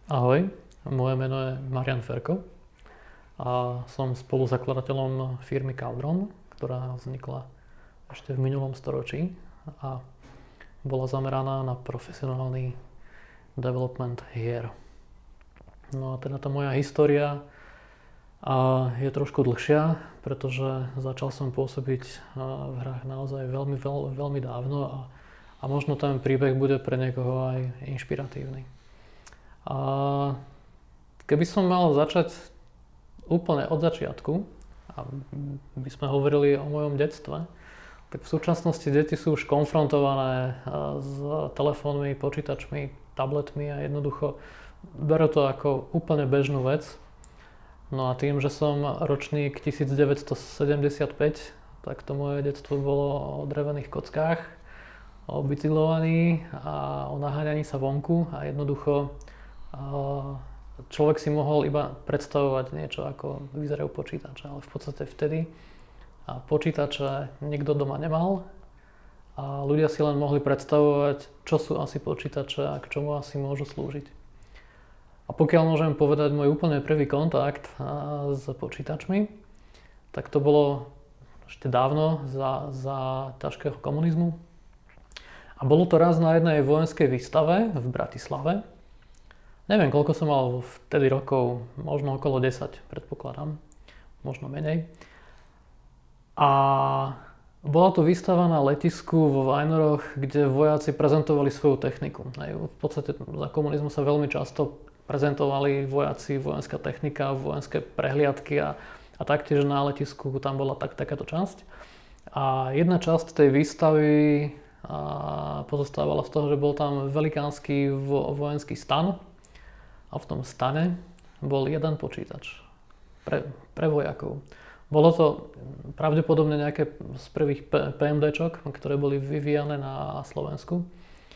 Ahoj, moje meno je Marian Ferko a som spoluzakladateľom firmy Cauldron, ktorá vznikla ešte v minulom storočí a bola zameraná na profesionálny development hier. No a teda tá moja história je trošku dlhšia, pretože začal som pôsobiť v hrách naozaj veľmi dávno a možno ten príbeh bude pre niekoho aj inšpiratívny. A keby som mal začať úplne od začiatku, a by sme hovorili o mojom detstve, tak v súčasnosti deti sú už konfrontované s telefónmi, počítačmi, tabletmi a jednoducho berú to ako úplne bežnú vec. No a tým, že som ročník 1975, tak to moje detstvo bolo o drevených kockách, o bicyklovaní a o naháňaní sa vonku a jednoducho človek si mohol iba predstavovať niečo, ako vyzerajú počítače, ale v podstate vtedy počítače nikto doma nemal a ľudia si len mohli predstavovať, čo sú asi počítače a k čomu asi môžu slúžiť. A pokiaľ môžem povedať môj úplne prvý kontakt s počítačmi, tak to bolo ešte dávno za ťažkého komunizmu. A bolo to raz na jednej vojenskej výstave v Bratislave. Neviem, koľko som mal vtedy rokov, možno okolo 10, predpokladám, možno menej. A bola to výstava na letisku vo Vajnoroch, kde vojaci prezentovali svoju techniku. V podstate za komunizmu sa veľmi často prezentovali vojaci, vojenská technika, vojenské prehliadky a taktiež na letisku tam bola takáto časť. A jedna časť tej výstavy pozostávala z toho, že bol tam velikánsky vojenský stan. A v tom stane bol jeden počítač pre vojakov. Bolo to pravdepodobne nejaké z prvých PMDčok, ktoré boli vyvíjane na Slovensku.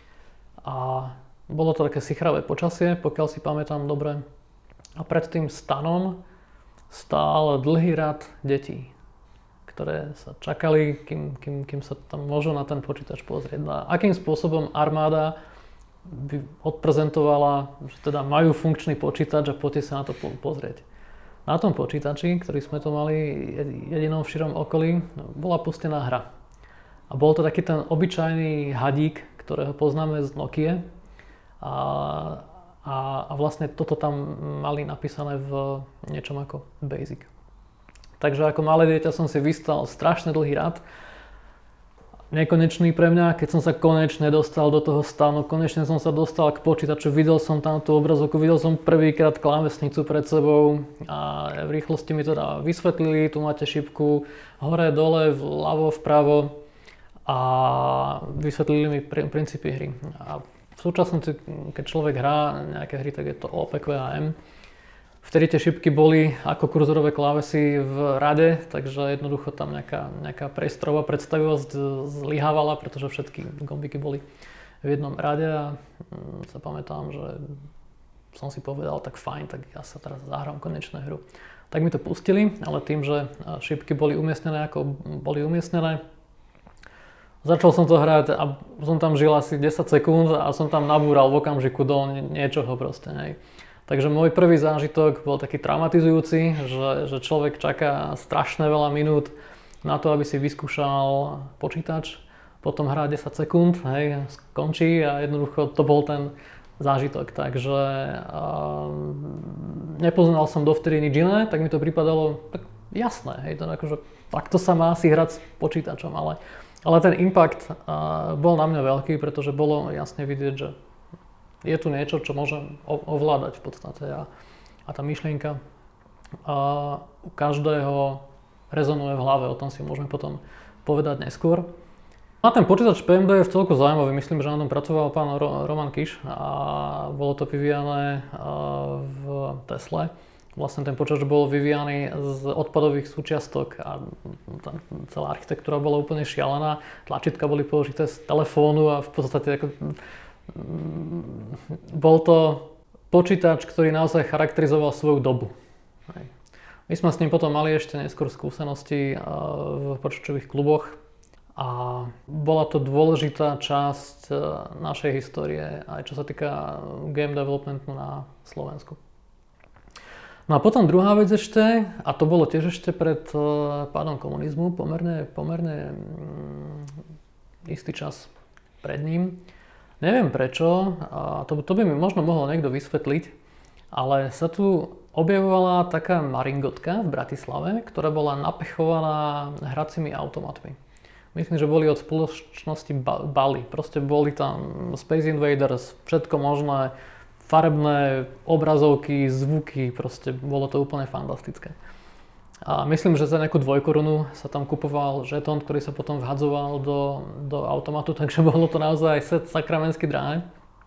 A bolo to také sichravé počasie, pokiaľ si pamätám dobre. A pred tým stanom stál dlhý rad detí, ktoré sa čakali, kým sa tam môžu na ten počítač pozrieť. A akým spôsobom armáda by odprezentovala, že teda majú funkčný počítač a poďte sa na to pozrieť. Na tom počítači, ktorý sme to mali jedinom v širom okolí, bola pustená hra. A bol to taký ten obyčajný hadík, ktorého poznáme z Nokie. A vlastne toto tam mali napísané v niečom ako Basic. Takže ako malé dieťa som si vystal strašne dlhý rad, nekonečný pre mňa, keď som sa konečne dostal do toho stanu, konečne som sa dostal k počítaču, videl som tam tú obrazovku, videl som prvýkrát klávesnicu pred sebou a v rýchlosti mi teda vysvetlili, tu máte šipku hore, dole, vľavo, vpravo a vysvetlili mi princípy hry. A v súčasnosti, keď človek hrá nejaké hry, tak je to O, P, Q a M. Vtedy tie šipky boli ako kurzorové klávesy v rade, takže jednoducho tam nejaká priestorová predstavivosť zlyhávala, pretože všetky gombiky boli v jednom rade a sa pamätám, že som si povedal, tak fajn, tak ja sa teraz zahrám konečnú hru. Tak mi to pustili, ale tým, že šipky boli umiestnené ako boli umiestnené, začal som to hrať a som tam žil asi 10 sekúnd a som tam nabúral v okamžiku do niečoho proste, hej. Takže môj prvý zážitok bol taký traumatizujúci, že človek čaká strašne veľa minút na to, aby si vyskúšal počítač, potom hrá 10 sekúnd, hej, skončí a jednoducho to bol ten zážitok. Takže nepoznal som dovtedy nič iné, tak mi to pripadalo tak jasné, hej, to akože takto sa má si hrať s počítačom, ale ten impact bol na mňa veľký, pretože bolo jasne vidieť, že je tu niečo, čo môžem ovládať v podstate a tá myšlienka u každého rezonuje v hlave, o tom si môžeme potom povedať neskôr. A ten počítač PMD je v celku zaujímavý, myslím, že na tom pracoval pán Roman Kiš a bolo to vyvíjané v Tesle. Vlastne ten počítač bol vyvíjaný z odpadových súčiastok a celá architektúra bola úplne šialená, tlačítka boli použité z telefónu a v podstate bol to počítač, ktorý naozaj charakterizoval svoju dobu. My sme s ním potom mali ešte neskôr skúsenosti v počítačových kluboch a bola to dôležitá časť našej histórie, aj čo sa týka game developmentu na Slovensku. No a potom druhá vec ešte, a to bolo tiež ešte pred pádom komunizmu, pomerne istý čas pred ním. Neviem prečo, a to by mi možno mohol niekto vysvetliť, ale sa tu objavovala taká maringotka v Bratislave, ktorá bola napechovaná hracími automatmi. Myslím, že boli od spoločnosti Bally. Proste boli tam Space Invaders, všetko možné, farebné obrazovky, zvuky, proste bolo to úplne fantastické. A myslím, že za nejakú 2 korunu sa tam kupoval žetón, ktorý sa potom vhadzoval do automatu, takže bolo to naozaj set sakramensky drahé.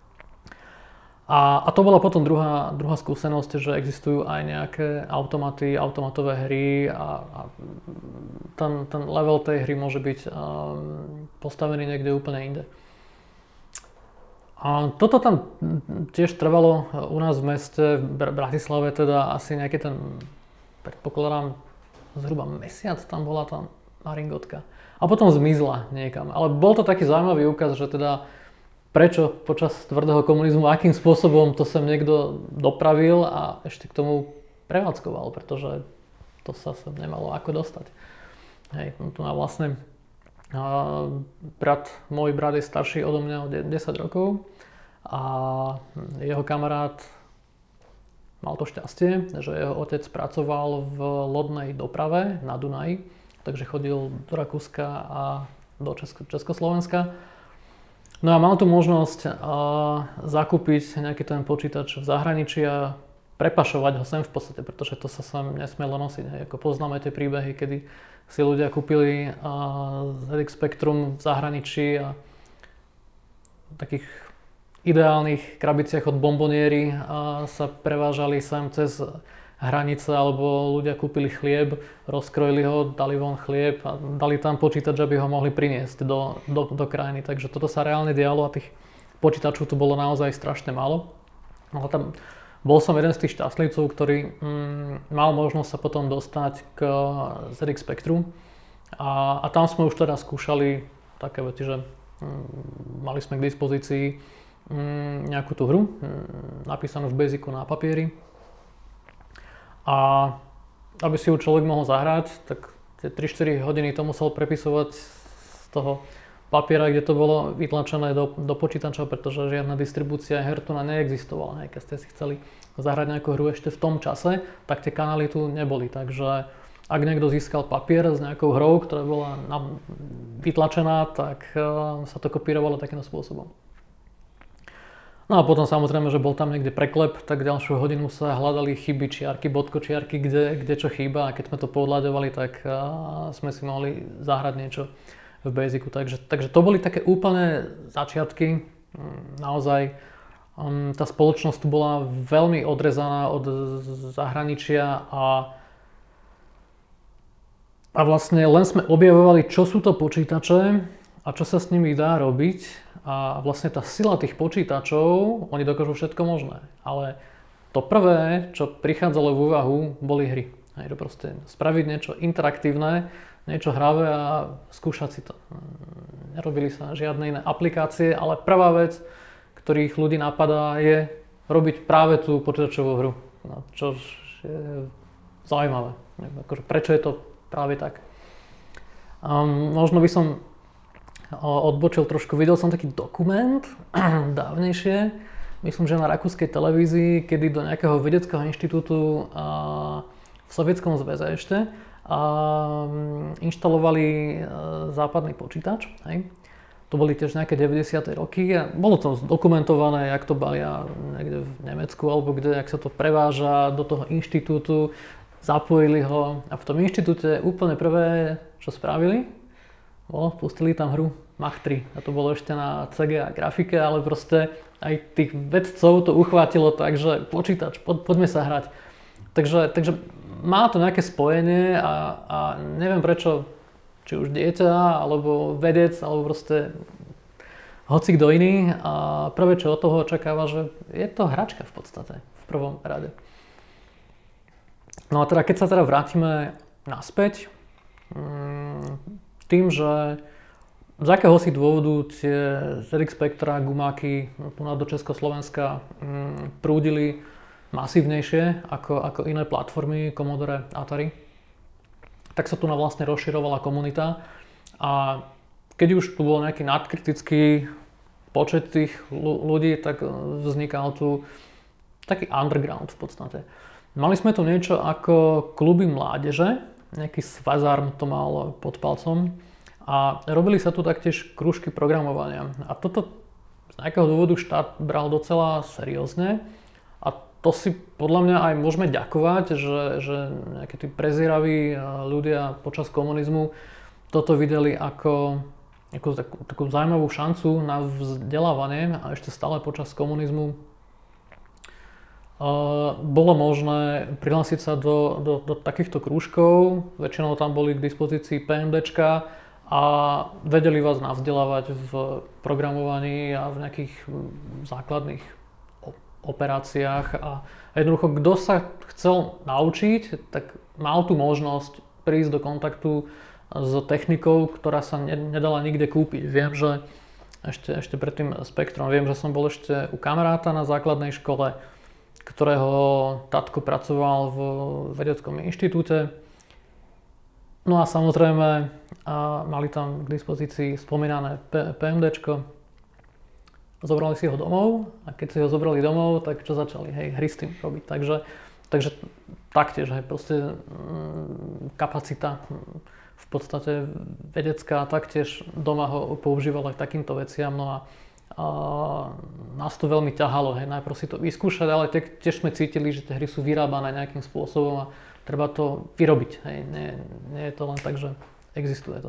A to bola potom druhá skúsenosť, že existujú aj nejaké automaty, automatové hry a ten level tej hry môže byť postavený niekde úplne inde. A toto tam tiež trvalo u nás v meste, v Bratislave, teda asi nejaký ten, predpokladám, zhruba mesiac tam bola tá maringotka. A potom zmizla niekam. Ale bol to taký zaujímavý úkaz, že teda prečo počas tvrdého komunizmu, akým spôsobom to sem niekto dopravil a ešte k tomu prevádzkoval, pretože to sa sem nemalo ako dostať. Hej, tu má vlastne môj brat je starší odo mňa o 10 rokov a jeho kamarát mal to šťastie, že jeho otec pracoval v lodnej doprave na Dunaji, takže chodil do Rakúska a do Československa. No a mal tu možnosť zakúpiť nejaký ten počítač v zahraničí a prepašovať ho sem v podstate, pretože to sa sem nesmielo nosiť. Hej. Ako poznáme tie príbehy, kedy si ľudia kúpili ZX Spectrum v zahraničí a v takých ideálnych krabiciach od bomboniéry sa prevážali sem cez hranice, alebo ľudia kúpili chlieb, rozkrojili ho, dali von chlieb a dali tam počítač, aby ho mohli priniesť do krajiny. Takže toto sa reálne dialo a tých počítačov tu bolo naozaj strašne málo. Ale tam bol som jeden z tých šťastlivcov, ktorý mal možnosť sa potom dostať k ZX Spectrum a tam sme už teda skúšali také veci, že mali sme k dispozícii nejakú tú hru napísanú v Basicu na papieri a aby si ju človek mohol zahrať, tak tie 3-4 hodiny to musel prepisovať z toho papiera, kde to bolo vytlačené do počítača, pretože žiadna distribúcia her tu neexistovala. Keď ste si chceli zahrať nejakú hru ešte v tom čase, tak tie kanály tu neboli. Takže ak niekto získal papier s nejakou hrou, ktorá bola vytlačená, tak sa to kopírovalo takýmto spôsobom. No a potom samozrejme, že bol tam niekde preklep, tak ďalšiu hodinu sa hľadali chyby, čiarky, bodkočiarky, kde čo chýba a keď sme to pohľadovali, tak sme si mohli zahrať niečo v Basicu. Takže to boli také úplné začiatky. Naozaj tá spoločnosť tu bola veľmi odrezaná od zahraničia a vlastne len sme objavovali, čo sú to počítače a čo sa s nimi dá robiť. A vlastne tá sila tých počítačov, oni dokážu všetko možné. Ale to prvé, čo prichádzalo v úvahu, boli hry. Hej, že proste spraviť niečo interaktívne, niečo hravé a skúšať si to. Nerobili sa žiadne iné aplikácie, ale prvá vec, ktorých ľudí napadá, je robiť práve tú počítačovú hru. No, čo je zaujímavé. Akože, prečo je to práve tak? Možno by som odbočil trošku, videl som taký dokument dávnejšie, myslím, že na rakúskej televízii, kedy do nejakého vedeckého inštitútu v Sovietskom zväze ešte inštalovali západný počítač. Hej. To boli tiež nejaké 90. roky a bolo to dokumentované, jak to balia niekde v Nemecku alebo kde, jak sa to preváža do toho inštitútu, zapojili ho a v tom inštitúte úplne prvé, čo spravili, pustili tam hru Mach 3 a to bolo ešte na CGA grafike, ale proste aj tých vedcov to uchvátilo tak, že počítač, poďme sa hrať. Takže má to nejaké spojenie a neviem prečo, či už dieťa, alebo vedec, alebo proste hoci kto iný a prvé čo od toho očakáva, že je to hračka v podstate, v prvom rade. No a teda keď sa teda vrátime naspäť, tým, že z akéhosi dôvodu tie ZX Spectra, gumáky tu do Československa prúdili masívnejšie ako iné platformy Commodore, Atari. Tak sa tu vlastne rozširovala komunita a keď už tu bol nejaký nadkritický počet tých ľudí, tak vznikal tu taký underground v podstate. Mali sme tu niečo ako kluby mládeže, nejaký Svazarm to mal pod palcom a robili sa tu taktiež krúžky programovania. A toto z nejakého dôvodu štát bral docela seriózne a to si podľa mňa aj môžeme ďakovať, že nejakí tí prezieraví ľudia počas komunizmu toto videli ako takú zaujímavú šancu na vzdelávanie a ešte stále počas komunizmu bolo možné prihlásiť sa do takýchto krúžkov. Väčšinou tam boli k dispozícii PMDčka a vedeli vás navzdelávať v programovaní a v nejakých základných operáciách a jednoducho, kto sa chcel naučiť, tak mal tu možnosť prísť do kontaktu s technikou, ktorá sa nedala nikde kúpiť. Viem, že ešte pred tým Spektrom, viem, že som bol ešte u kamaráta na základnej škole, ktorého tatko pracoval v vedeckom inštitúte. No a samozrejme mali tam k dispozícii spomínané PMDčko. Zobrali si ho domov a keď si ho zobrali domov, tak čo začali, hry s tým robiť. Takže taktiež, proste kapacita v podstate vedecká, taktiež doma ho používala k takýmto veciam. No a nás to veľmi ťahalo, najprv si to vyskúšať, ale tiež sme cítili, že tie hry sú vyrábané nejakým spôsobom a treba to vyrobiť. Nie je to len tak, že existuje to.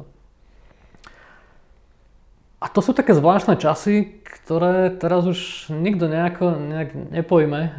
A to sú také zvláštne časy, ktoré teraz už nikto nejak nepojme,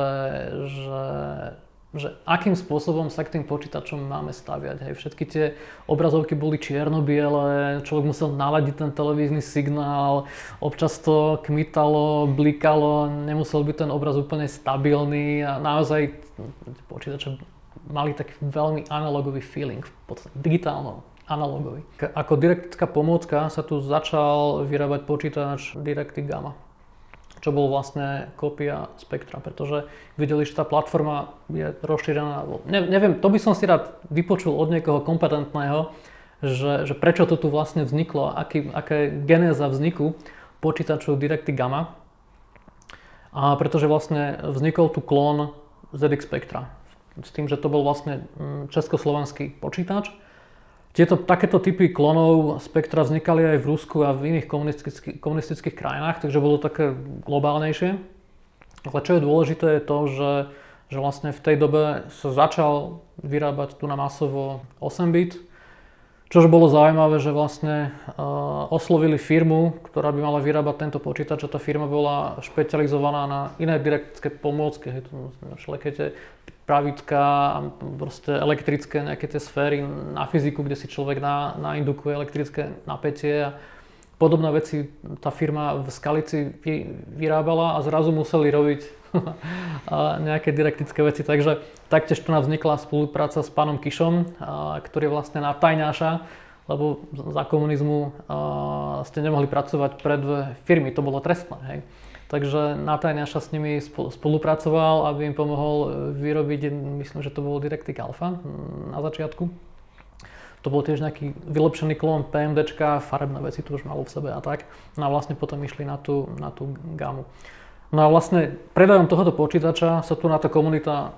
že akým spôsobom sa k tým počítačom máme staviať. Všetky tie obrazovky boli čierno-biele, človek musel naladiť ten televízny signál, občas to kmitalo, blikalo, nemusel byť ten obraz úplne stabilný a naozaj počítače mali taký veľmi analogový feeling, v podstate digitálno-analogový. Ako didaktická pomôcka sa tu začal vyrábať počítač DirectX Gamma, čo bol vlastne kópia Spectra, pretože videli, že tá platforma je rozšírená. Neviem, to by som si rád vypočul od niekoho kompetentného, že prečo to tu vlastne vzniklo, aká je genéza vzniku počítačov DirectX Gamma. A pretože vlastne vznikol tu klón ZX Spectra. S tým, že to bol vlastne československý počítač. Takéto typy klonov Spectra vznikali aj v Rusku a v iných komunistických krajinách, takže bolo také globálnejšie. Ale čo je dôležité je to, že vlastne v tej dobe sa začal vyrábať tu na masovo 8-bit, čož bolo zaujímavé, že vlastne oslovili firmu, ktorá by mala vyrábať tento počítač a tá firma bola špecializovaná na iné didaktické pomôcky, všelijaké tie pravítka a proste elektrické nejaké tie sféry na fyziku, kde si človek naindukuje elektrické napätie a podobné veci tá firma v Skalici vyrábala a zrazu museli robiť nejaké didaktické veci. Takže taktiež tu nám vznikla spolupráca s pánom Kišom, ktorý je vlastne na tajňáša, lebo za komunizmu ste nemohli pracovať pre dve firmy, to bolo trestné. Hej. Takže na tajňáša s nimi spolupracoval, aby im pomohol vyrobiť, myslím, že to bolo DirectX Alpha na začiatku. To bol tiež nejaký vylepšený klón PMDčka, farebné veci tu už malo v sebe a tak. No a vlastne potom išli na tú gamu. No a vlastne predajom tohoto počítača sa tu na tá komunita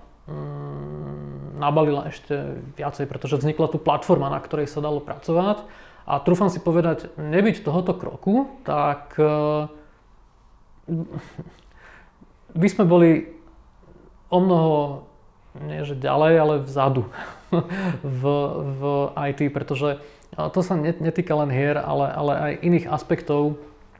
nabalila ešte viacej, pretože vznikla tu platforma, na ktorej sa dalo pracovať. A trúfam si povedať, nebyť tohoto kroku, tak by sme boli o mnoho, nie že ďalej, ale vzadu v IT, pretože to sa netýka len hier, ale aj iných aspektov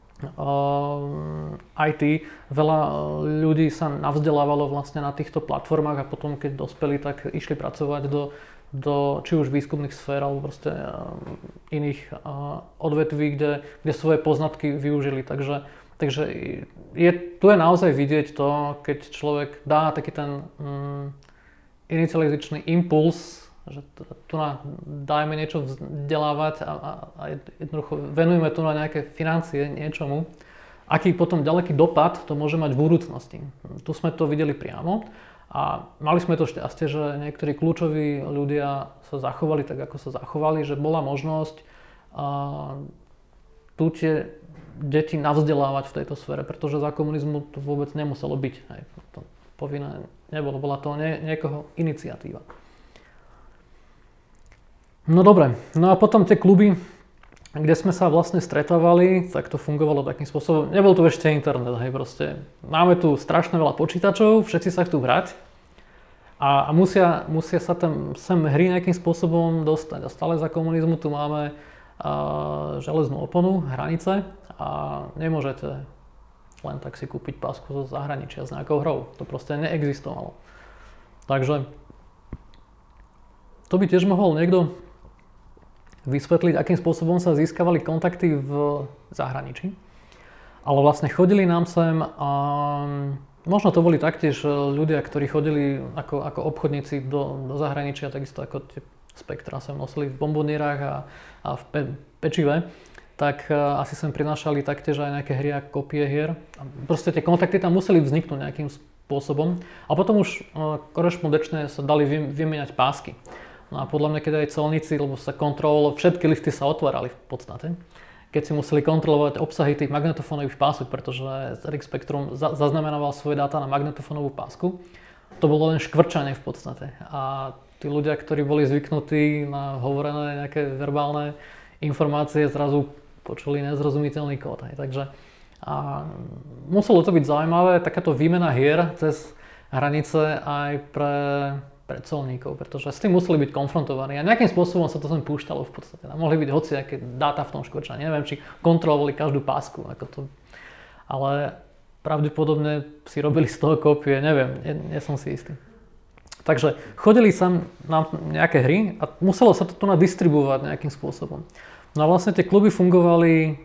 IT. Veľa ľudí sa navzdelávalo vlastne na týchto platformách a potom, keď dospeli, tak išli pracovať do či už výskumných sfér alebo proste iných odvetví, kde svoje poznatky využili. Takže tu je naozaj vidieť to, keď človek dá taký ten inicializačný impuls že tu dajme niečo vzdelávať a jednoducho venujeme tu na nejaké financie niečomu, aký potom ďaleký dopad to môže mať v budúcnosti. Tu sme to videli priamo a mali sme to šťastie, že niektorí kľúčoví ľudia sa zachovali tak, ako sa zachovali, že bola možnosť tu tie deti navzdelávať v tejto sfére, pretože za komunizmu to vôbec nemuselo byť. Hej. To povinné nebolo, bola to niekoho iniciatíva. No dobre, no a potom tie kluby, kde sme sa vlastne stretávali, tak to fungovalo takým spôsobom. Nebol tu ešte internet, hej, proste. Máme tu strašne veľa počítačov, všetci sa chcú hrať a musia sa tam sem hry nejakým spôsobom dostať. A stále za komunizmu tu máme železnú oponu, hranice a nemôžete len tak si kúpiť pásku zo zahraničia s nejakou hrou. To proste neexistovalo. Takže to by tiež mohol niekto vysvetliť, akým spôsobom sa získavali kontakty v zahraničí. Ale vlastne chodili nám sem a možno to boli taktiež ľudia, ktorí chodili ako obchodníci do zahraničia, takisto ako tie spektra sem nosili v bombonierách a v pečive, tak asi sem prinášali taktiež aj nejaké hry a kopie hier. A proste tie kontakty tam museli vzniknúť nejakým spôsobom. A potom už korešpondenčne sa dali vymieňať pásky. No a podľa mňa, keď aj colníci, lebo sa kontrolovalo, všetky lifty sa otvárali v podstate, keď si museli kontrolovať obsahy tých magnetofónových pások, pretože RX Spectrum zaznamenával svoje dáta na magnetofónovú pásku. To bolo len škvrčanie v podstate. A tí ľudia, ktorí boli zvyknutí na hovorené nejaké verbálne informácie, zrazu počuli nezrozumiteľný kód. Takže muselo to byť zaujímavé, takáto výmena hier cez hranice aj pre colníkov, pretože s tým museli byť konfrontovaní a nejakým spôsobom sa to sem púšťalo v podstate. A mohli byť hociaké dáta v tom škvrčaní. Neviem, či kontrolovali každú pásku, ale pravdepodobne si robili z toho kópie, neviem, nie som si istý. Takže chodili sem nám nejaké hry a muselo sa to tu nadistribuovať nejakým spôsobom. No a vlastne tie kluby fungovali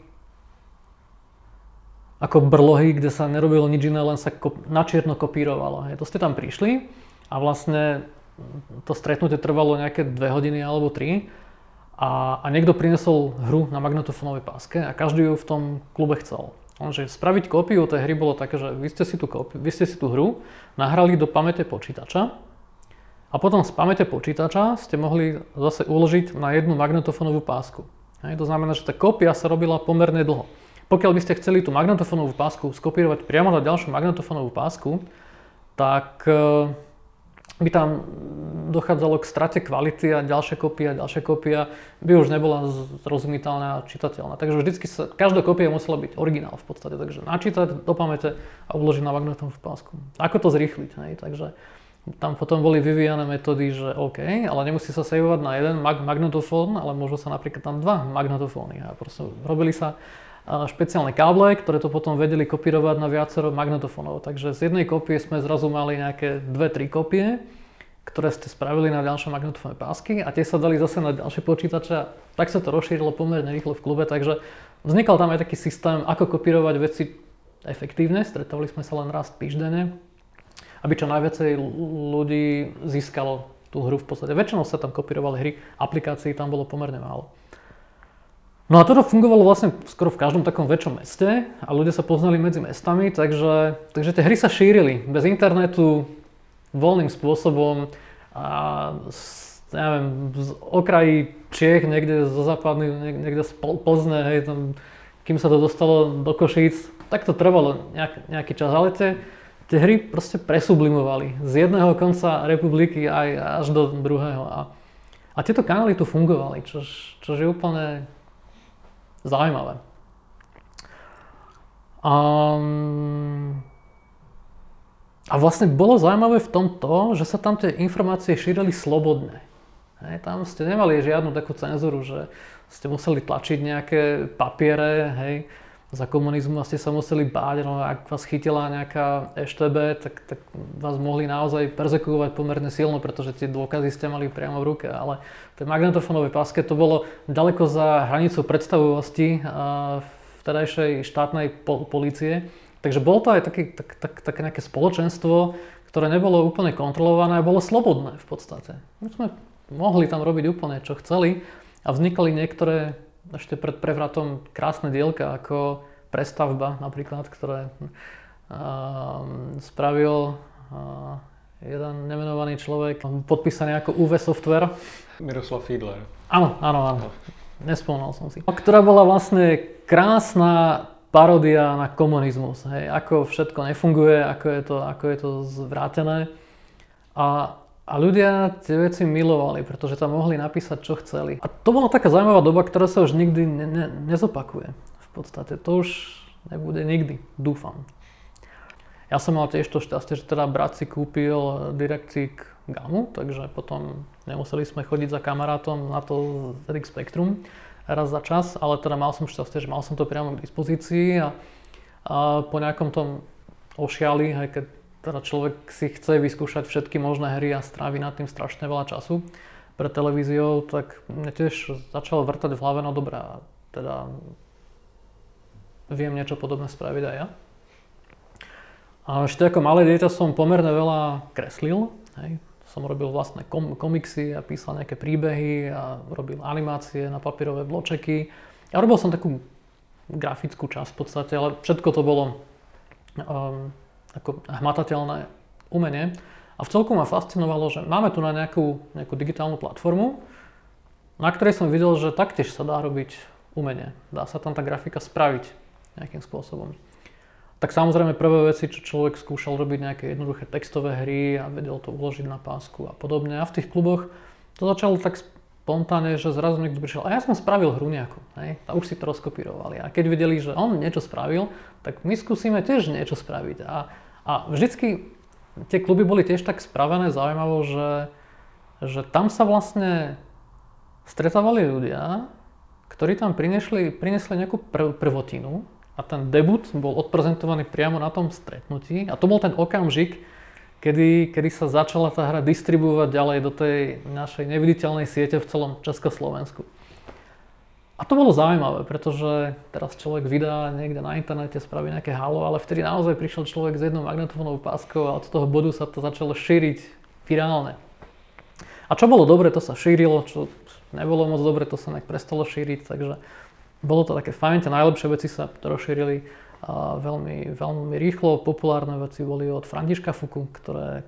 ako brlohy, kde sa nerobilo nič iné, len sa na čierno kopírovalo. To ste tam prišli a vlastne to stretnutie trvalo nejaké 2 hodiny alebo 3 a niekto prinesol hru na magnetofónovej páske a každý ju v tom klube chcel. Lenže spraviť kópiu tej hry bolo také, že vy ste si tú hru nahrali do pamäte počítača a potom z pamäte počítača ste mohli zase uložiť na jednu magnetofónovú pásku. To znamená, že tá kópia sa robila pomerne dlho. Pokiaľ by ste chceli tú magnetofónovú pásku skopírovať priamo na ďalšiu magnetofónovú pásku, tak by tam dochádzalo k strate kvality a ďalšia kópia by už nebola zrozumiteľná a čitateľná. Takže vždycky každá kópia musela byť originál v podstate. Takže načítať do pamäte a uložiť na magnetofónovú pásku. Ako to zrýchliť? Takže tam potom boli vyvíjane metódy, že OK, ale nemusí sa saveovať na jeden magnetofón, ale môžu sa napríklad tam 2 magnetofóny. A proste robili sa špeciálne káble, ktoré to potom vedeli kopírovať na viacero magnetofónov. Takže z jednej kópie sme zrazu mali nejaké 2-3 kópie, ktoré ste spravili na ďalšie magnetofónne pásky a tie sa dali zase na ďalšie počítače. Tak sa to rozšírilo pomerne rýchlo v klube, takže vznikal tam aj taký systém, ako kopírovať veci efektívne. Stretávali sme sa len raz týždenne, aby čo najviacej ľudí získalo tú hru v podstate. Väčšinou sa tam kopírovali hry, aplikácií tam bolo pomerne málo. No a toto fungovalo vlastne skoro v každom takom väčšom meste a ľudia sa poznali medzi mestami, takže tie hry sa šírili bez internetu voľným spôsobom a neviem, z okrají Čiech, niekde zo západných, niekde z Plzne, hej, tam, kým sa to dostalo do Košíc, tak to trvalo nejaký čas, ale tie hry proste presublimovali z jedného konca republiky aj až do druhého a tieto kanály tu fungovali, čo je úplne zaujímavé. A vlastne bolo zaujímavé v tom to, že sa tam tie informácie šírili slobodne. Tam ste nemali žiadnu takú cenzúru, že ste museli tlačiť nejaké papiere, hej. Za komunizmu ste sa museli báť, no ak vás chytila nejaká EŠTB, tak vás mohli naozaj perzekuovať pomerne silno, pretože tie dôkazy ste mali priamo v ruke. Ale tie magnetofónové páske to bolo ďaleko za hranicou predstavivosti vtedajšej štátnej polície. Takže bolo to aj také nejaké spoločenstvo, ktoré nebolo úplne kontrolované a bolo slobodné v podstate. My sme mohli tam robiť úplne čo chceli a vznikali niektoré ešte pred prevratom krásne dielka ako Prestavba napríklad, ktoré spravil jeden nemenovaný človek, podpísaný ako UV Software. Miroslav Fiedler. Áno. Nespomínal som si. Ktorá bola vlastne krásna paródia na komunizmus. Hej. Ako všetko nefunguje, ako je to zvrátené. A ľudia tie veci milovali, pretože tam mohli napísať, čo chceli. A to bola taká zaujímavá doba, ktorá sa už nikdy nezopakuje. V podstate to už nebude nikdy, dúfam. Ja som mal tiež to šťastie, že teda brat si kúpil DirectX Gamu, takže potom nemuseli sme chodiť za kamarátom na to ZX Spectrum raz za čas, ale teda mal som šťastie, že mal som to priamo k dispozícii a po nejakom tom ošiali, aj keď teda človek si chce vyskúšať všetky možné hry a strávi nad tým strašne veľa času pred televíziou, tak mne tiež začalo vrtať v hlave, no dobré, teda viem niečo podobné spraviť aj ja. A ešte ako malé dieťa som pomerne veľa kreslil, hej. Som robil vlastné komiksy a písal nejaké príbehy a robil animácie na papierové bločeky. Ja robil som takú grafickú časť v podstate, ale všetko to bolo ako hmatateľné umenie. A v celku ma fascinovalo, že máme tu na nejakú digitálnu platformu, na ktorej som videl, že taktiež sa dá robiť umenie. Dá sa tam tá grafika spraviť nejakým spôsobom. Tak samozrejme prvé veci, čo človek skúšal robiť nejaké jednoduché textové hry a vedel to uložiť na pásku a podobne. A v tých kluboch to začalo tak spontánne, že zrazu niekto prišiel a ja som spravil hru nejakú, hej? A už si to rozkopírovali. A keď videli, že on niečo spravil, tak my skúsime tiež niečo spraviť. A vždycky tie kluby boli tiež tak spravené zaujímavo, že tam sa vlastne stretávali ľudia, ktorí tam priniesli nejakú prvotinu. A ten debut bol odprezentovaný priamo na tom stretnutí. A to bol ten okamžik, kedy sa začala tá hra distribuovať ďalej do tej našej neviditeľnej siete v celom Československu. A to bolo zaujímavé, pretože teraz človek vydá niekde na internete, spraví nejaké halo, ale vtedy naozaj prišiel človek s jednou magnetofónovou páskou a od toho bodu sa to začalo šíriť virálne. A čo bolo dobre, to sa šírilo, čo nebolo moc dobre, to sa nejak prestalo šíriť, takže bolo to také fajn, tie najlepšie veci sa rozšírili veľmi, veľmi rýchlo. Populárne veci boli od Františka Fuku, ktoré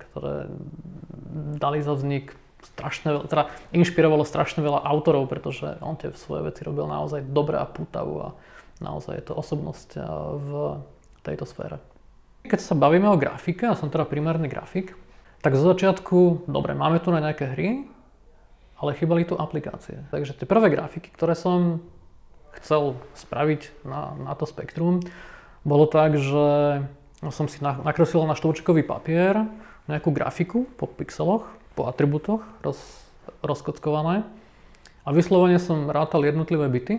dali za vznik teda inšpirovalo strašne veľa autorov, pretože on tie svoje veci robil naozaj dobre a pútavu a naozaj je to osobnosť v tejto sfére. Keď sa bavíme o grafike, ja som teda primárny grafik, tak zo začiatku, dobre, máme tu na nejaké hry, ale chýbali tu aplikácie. Takže tie prvé grafiky, ktoré som chcel spraviť na to spektrum, bolo tak, že som si nakreslil na štvorčkový papier nejakú grafiku po pixeloch, po atributoch rozkockované a vyslovene som rátal jednotlivé bity,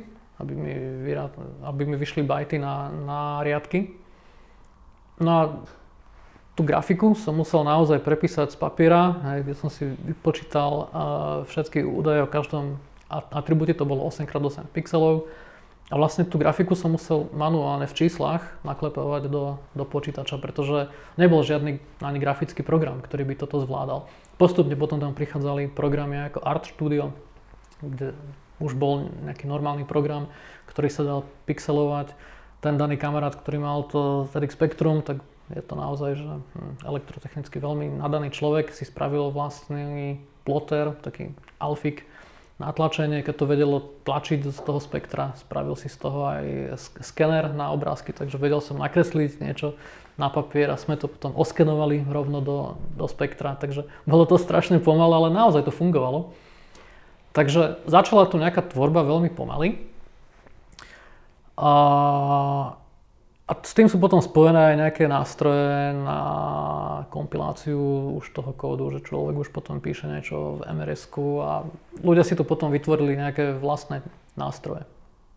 aby mi vyšli bajty na riadky. No a tú grafiku som musel naozaj prepísať z papiera, kde som si vypočítal všetky údaje o každom atribúte, to bolo 8x8 pixelov. A vlastne tú grafiku som musel manuálne v číslach naklepovať do počítača, pretože nebol žiadny ani grafický program, ktorý by toto zvládal. Postupne potom tam prichádzali programy ako Art Studio, kde už bol nejaký normálny program, ktorý sa dal pixelovať. Ten daný kamarát, ktorý mal to ZX Spectrum, tak je to naozaj, že elektrotechnicky veľmi nadaný človek, si spravil vlastný plotter, taký alfik, na tlačenie, keď to vedelo tlačiť z toho spektra, spravil si z toho aj skener na obrázky, takže vedel som nakresliť niečo na papier a sme to potom oskenovali rovno do spektra, takže bolo to strašne pomalé, ale naozaj to fungovalo. Takže začala tu nejaká tvorba veľmi pomaly a s tým sú potom spojené aj nejaké nástroje na kompiláciu už toho kódu, že človek už potom píše niečo v MRS-ku a ľudia si to potom vytvorili nejaké vlastné nástroje.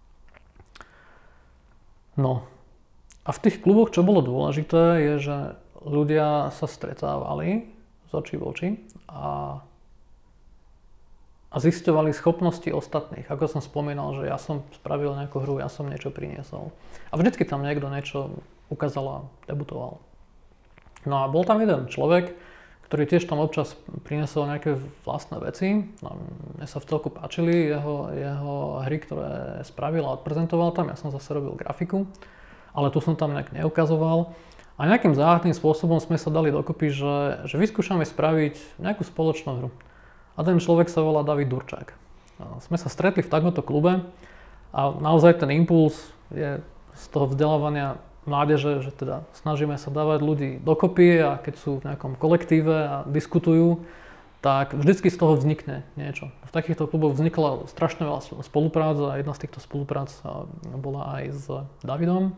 No a v tých kluboch, čo bolo dôležité, je, že ľudia sa stretávali z očí v oči a zisťovali schopnosti ostatných. Ako som spomínal, že ja som spravil nejakú hru, ja som niečo priniesol. A vždycky tam niekto niečo ukázal a debutoval. No a bol tam jeden človek, ktorý tiež tam občas priniesol nejaké vlastné veci. No, mne sa v celku páčili jeho hry, ktoré spravil a odprezentoval tam. Ja som zase robil grafiku, ale tu som tam nejak neukazoval. A nejakým záhadným spôsobom sme sa dali dokopy, že vyskúšame spraviť nejakú spoločnú hru. A ten človek sa volá David Durčák. Sme sa stretli v takomto klube a naozaj ten impuls je z toho vzdelávania mládeže, že teda snažíme sa dávať ľudí dokopy a keď sú v nejakom kolektíve a diskutujú, tak vždycky z toho vznikne niečo. V takýchto kluboch vznikla strašne veľa spoluprác a jedna z týchto spoluprác bola aj s Davidom.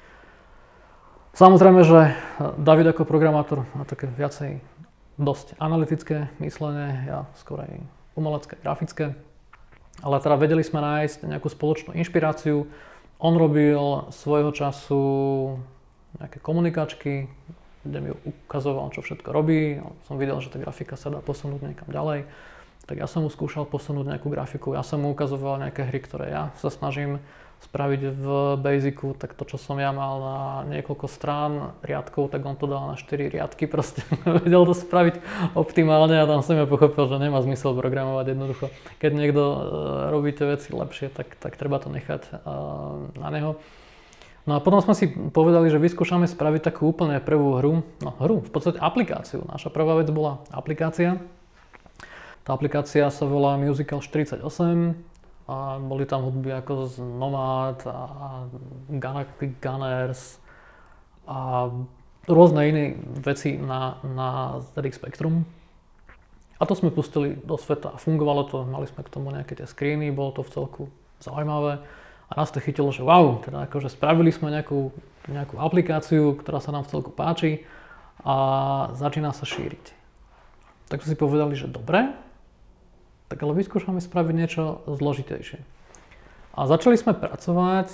Samozrejme, že David ako programátor má také viacej dosť analytické myslenie, ja skôr aj umelecké, grafické. Ale teda vedeli sme nájsť nejakú spoločnú inšpiráciu. On robil svojho času nejaké komunikačky, kde mi ukazoval, čo všetko robí. Som videl, že tá grafika sa dá posunúť niekam ďalej. Tak ja som mu skúšal posunúť nejakú grafiku. Ja som mu ukazoval nejaké hry, ktoré ja sa snažím spraviť v Basicu. Tak to, čo som ja mal na niekoľko strán riadkov, tak on to dal na 4 riadky. Proste vedel to spraviť optimálne a tam som ja pochopil, že nemá zmysel programovať jednoducho. Keď niekto robí tie veci lepšie, tak treba to nechať na neho. No a potom sme si povedali, že vyskúšame spraviť takú úplne prvú hru. No hru, v podstate aplikáciu. Naša prvá vec bola aplikácia. Tá aplikácia sa volá Musical 48 a boli tam hudby ako z Nomad a Galactic Gunners a rôzne iné veci na ZX Spectrum. A to sme pustili do sveta a fungovalo to, mali sme k tomu nejaké tie screeny, bolo to v celku zaujímavé. A nás to chytilo, že wow, teda akože spravili sme nejakú aplikáciu, ktorá sa nám v celku páči a začína sa šíriť. Tak sme si povedali, že dobre, tak ale vyskúšame spraviť niečo zložitejšie. A začali sme pracovať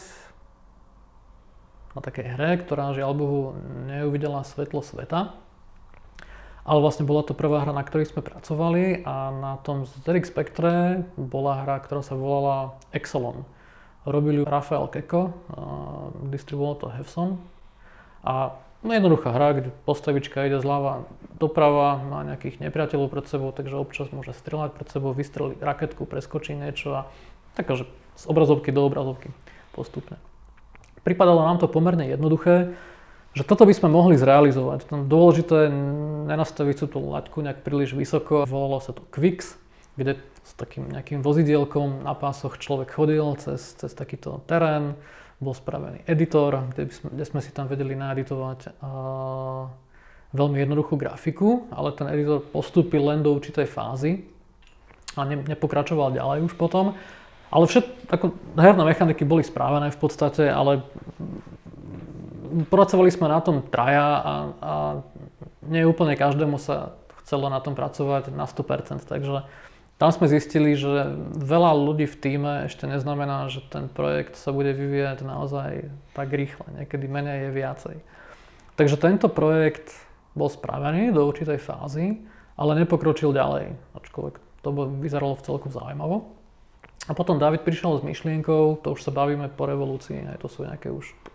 na takej hre, ktorá žiaľ Bohu neuvidela svetlo sveta. Ale vlastne bola to prvá hra, na ktorej sme pracovali a na tom ZX Spectre bola hra, ktorá sa volala Exelon. Robil ju Rafael Keko, distribuoval to Hefson. A jednoduchá hra, kde postavička ide zľava doprava, má nejakých nepriateľov pred sebou, takže občas môže strieľať pred sebou, vystreliť raketku, preskočí niečo a takže z obrazovky do obrazovky postupne. Pripadalo nám to pomerne jednoduché, že toto by sme mohli zrealizovať. Dôležité nenastaviť si tú laťku nejak príliš vysoko. Volalo sa to Quix, kde s takým nejakým vozidielkom na pásoch človek chodil cez takýto terén. Bol spravený editor, kde sme si tam vedeli naeditovať veľmi jednoduchú grafiku, ale ten editor postúpil len do určitej fázy a nepokračoval ďalej už potom. Ale ako herné mechaniky boli správené v podstate, ale pracovali sme na tom traja a nie úplne každému sa chcelo na tom pracovať na 100%, takže tam sme zistili, že veľa ľudí v tíme ešte neznamená, že ten projekt sa bude vyvíjať naozaj tak rýchle. Niekedy menej je viacej. Takže tento projekt bol spravený do určitej fázy, ale nepokročil ďalej. Ačkoľvek to vyzeralo v celku zaujímavo. A potom David prišiel s myšlienkou, to už sa bavíme po revolúcii, aj to sú nejaký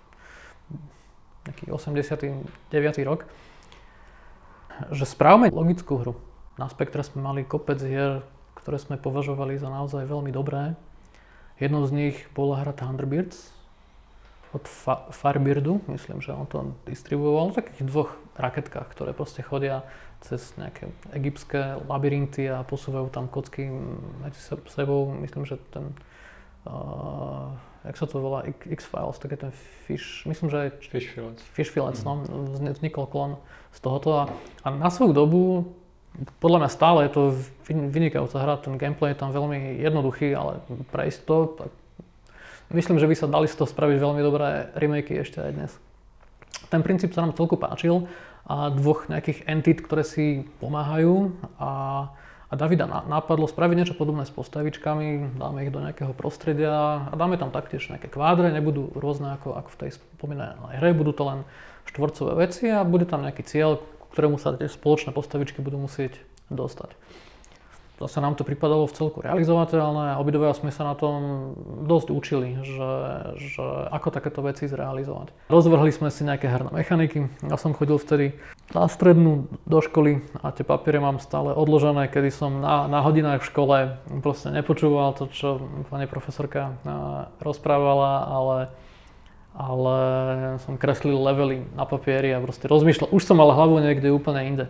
89. rok, že správame logickú hru. Na Spectre sme mali kopec hier, ktoré sme považovali za naozaj veľmi dobré. Jednou z nich bola hra Thunderbirds od Firebirdu, myslím, že on to distribuoval v takých dvoch raketkách, ktoré proste chodia cez nejaké egyptské labyrinty a posúvajú tam kocky medzi sebou. Myslím, že ten, jak sa to volá, X-Files, tak je ten myslím, že aj Fish Fields, no, vznikol klon z tohoto a na svoju dobu podľa mňa stále je to vynikajúca hra, ten gameplay je tam veľmi jednoduchý, ale prejsť to, tak myslím, že by sa dali z toho spraviť veľmi dobré remakey ešte aj dnes. Ten princíp sa nám celku páčil a dvoch nejakých entit, ktoré si pomáhajú a Davida napadlo spraviť niečo podobné s postavičkami, dáme ich do nejakého prostredia a dáme tam taktiež nejaké kvádre, nebudú rôzne ako v tej spomínanej hre, budú to len štvorcové veci a bude tam nejaký cieľ, ktorému sa tie spoločné postavičky budú musieť dostať. zase nám to pripadalo v celku realizovateľné a obidvaja sme sa na tom dosť učili, že ako takéto veci zrealizovať. Rozvrhli sme si nejaké herné mechaniky. Ja som chodil vtedy na strednú do školy a tie papiere mám stále odložené, kedy som na hodinách v škole proste nepočúval to, čo pani profesorka rozprávala, ale som kreslil levely na papieri a proste rozmýšľal. Už som mal hlavu niekde úplne inde.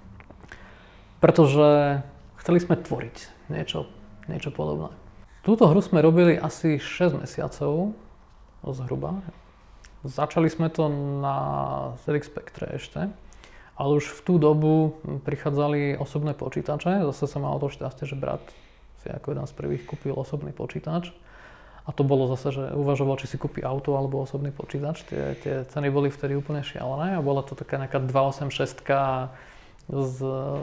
Pretože chceli sme tvoriť niečo podobné. Túto hru sme robili asi 6 mesiacov, zhruba. Začali sme to na ZX Spectre ešte, ale už v tú dobu prichádzali osobné počítače. Zase som mal to šťastie, že brat si ako jeden z prvých kúpil osobný počítač. A to bolo zase, že uvažoval, či si kúpi auto alebo osobný počítač. Tie ceny boli vtedy úplne šialené a bola to taká nejaká 286 s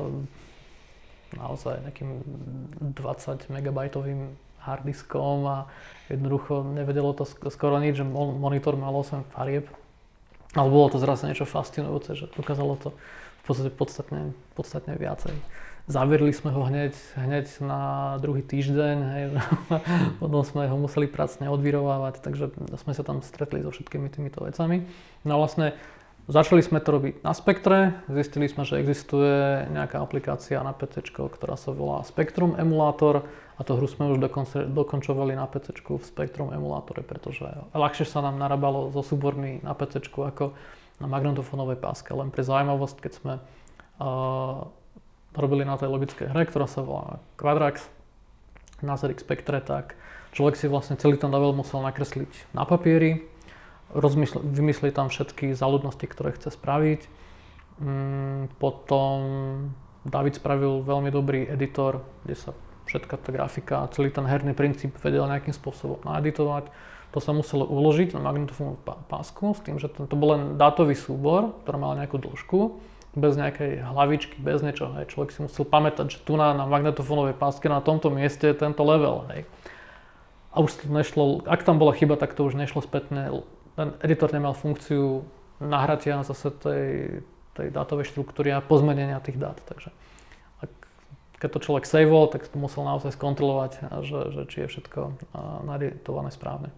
naozaj nejakým 20 megabajtovým harddiskom a jednoducho nevedelo to skoro nič, že monitor mal 8 farieb. Ale bolo to zrazu niečo fascinujúce, že dokázalo to v podstate podstatne viacej. Zaviedli sme ho hneď na druhý týždeň, hej. Potom sme ho museli pracne odvirovávať, takže sme sa tam stretli so všetkými týmito vecami. No a vlastne začali sme to robiť na Spectre, zistili sme, že existuje nejaká aplikácia na PC, ktorá sa volá Spectrum Emulator a tú hru sme už dokončovali na PC v Spectrum Emulátore, pretože ľahšie sa nám narábalo so súbormi na PC ako na magnetofónovej páske. Len pre zaujímavosť, keď sme robili na tej logickej hre, ktorá sa volá Quadrax na ZX Spectre, tak človek si vlastne celý ten level musel nakresliť na papieri, vymyslieť tam všetky záľudnosti, ktoré chce spraviť. Potom David spravil veľmi dobrý editor, kde sa všetká tá grafika a celý ten herný princíp vedel nejakým spôsobom naeditovať. To sa muselo uložiť na magnetofónovú pásku s tým, že to bol len dátový súbor, ktorý mal nejakú dĺžku, bez nejakej hlavičky, bez niečoho. Hej. Človek si musel pamätať, že tu na magnetofónovej páske na tomto mieste je tento level. Hej. A už to nešlo, ak tam bola chyba, tak to už nešlo spätne. Ten editor nemal funkciu nahratia zase tej dátovej štruktúry a pozmenenia tých dát. Takže keď to človek saveol, tak to musel naozaj skontrolovať, že či je všetko naeditované správne.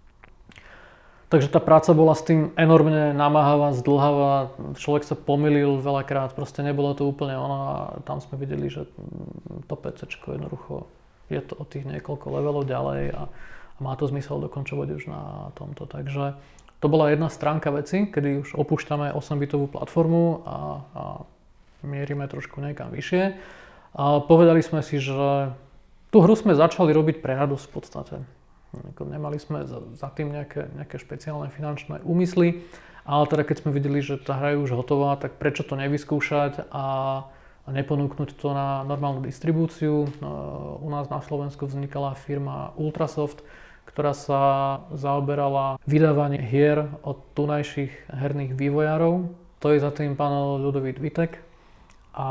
Takže tá práca bola s tým enormne namáhavá, zdĺhavá, človek sa pomýlil veľakrát, proste nebolo to úplne ono a tam sme videli, že to PCčko jednoducho je to od tých niekoľko levelov ďalej a má to zmysel dokončovať už na tomto. Takže to bola jedna stránka veci, kedy už opúšťame 8-bitovú platformu a mierime trošku niekam vyššie. A povedali sme si, že tú hru sme začali robiť pre radosť v podstate. Nemali sme za tým nejaké špeciálne finančné úmysly, ale teda keď sme videli, že tá hra je už hotová, tak prečo to nevyskúšať a neponúknuť to na normálnu distribúciu. U nás na Slovensku vznikala firma Ultrasoft, ktorá sa zaoberala vydávanie hier od tunajších herných vývojárov. To je za tým pán Ľudovít Vitek. A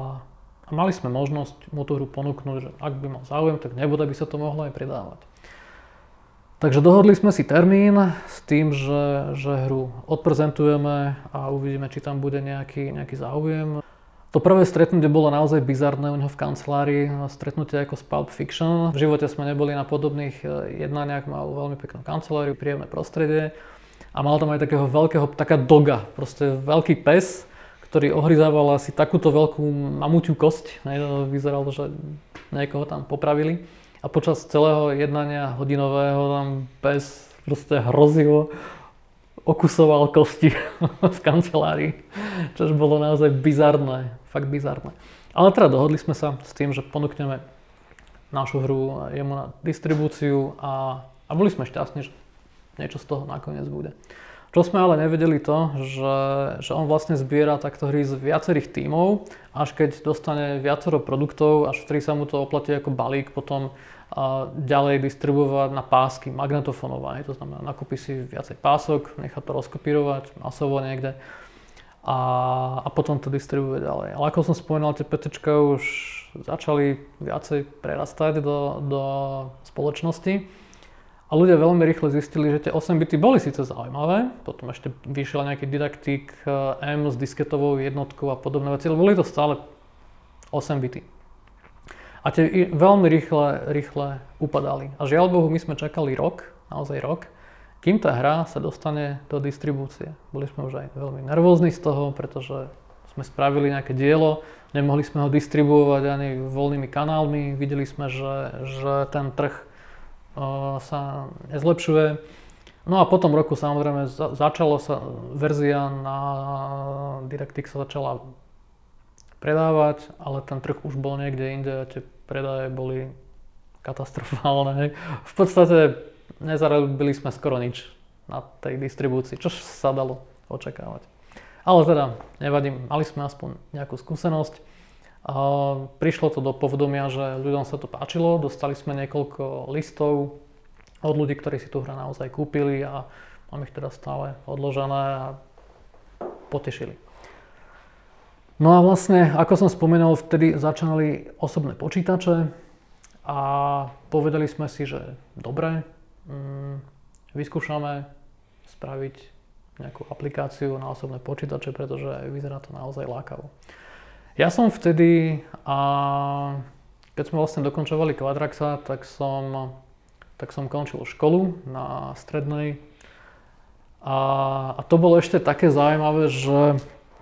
mali sme možnosť mu tú hru ponúknuť, že ak by mal záujem, tak nebude by sa to mohlo aj predávať. Takže dohodli sme si termín s tým, že hru odprezentujeme a uvidíme, či tam bude nejaký záujem. To prvé stretnutie bolo naozaj bizarné u neho v kancelárii, stretnutie ako z Pulp Fiction. V živote sme neboli na podobných jednaniach, mal veľmi peknú kanceláriu, príjemné prostredie a mal tam aj taká doga, proste veľký pes, ktorý ohryzával asi takúto veľkú mamuťu kosť. Vyzeralo, že niekoho tam popravili. A počas celého jednania hodinového tam pes proste hrozivo okusoval kosti v kancelárii, čo bolo naozaj bizarné, fakt bizarné. Ale teda dohodli sme sa s tým, že ponúkneme našu hru jemu na distribúciu a boli sme šťastní, že niečo z toho nakoniec bude. Čo sme ale nevedeli to, že on vlastne zbiera takto hry z viacerých tímov, až keď dostane viacero produktov, až vtedy sa mu to oplatí ako balík, potom ďalej distribuovať na pásky magnetofónové. To znamená, nakúpi si viacej pások, nechá to rozkopírovať masovo niekde a potom to distribuuje ďalej. Ale ako som spomínal, tie PCčka už začali viacej prerastať do spoločnosti. A ľudia veľmi rýchle zistili, že tie 8 bity boli síce zaujímavé, potom ešte vyšiel nejaký Didaktik M s disketovou jednotkou a podobné veci, ale boli to stále 8 bity. A tie veľmi rýchle upadali. A žiaľ Bohu, my sme čakali rok, naozaj rok, kým tá hra sa dostane do distribúcie. Boli sme už aj veľmi nervózni z toho, pretože sme spravili nejaké dielo, nemohli sme ho distribuovať ani voľnými kanálmi, videli sme, že ten trh sa nezlepšuje. No a po tom roku samozrejme začalo sa verzia na DirectX sa začala predávať, ale ten trh už bol niekde inde a tie predaje boli katastrofálne. V podstate nezarobili sme skoro nič na tej distribúcii, čo sa dalo očakávať. Ale teda nevadí, mali sme aspoň nejakú skúsenosť. Prišlo to do povedomia, že ľuďom sa to páčilo, dostali sme niekoľko listov od ľudí, ktorí si tú hru naozaj kúpili a mám ich teda stále odložené a potešili. No a vlastne, ako som spomenul, vtedy začínali osobné počítače a povedali sme si, že dobre, vyskúšame spraviť nejakú aplikáciu na osobné počítače, pretože vyzerá to naozaj lákavo. Ja som vtedy, keď sme vlastne dokončovali Quadraxa, tak som končil školu na strednej a to bolo ešte také zaujímavé, že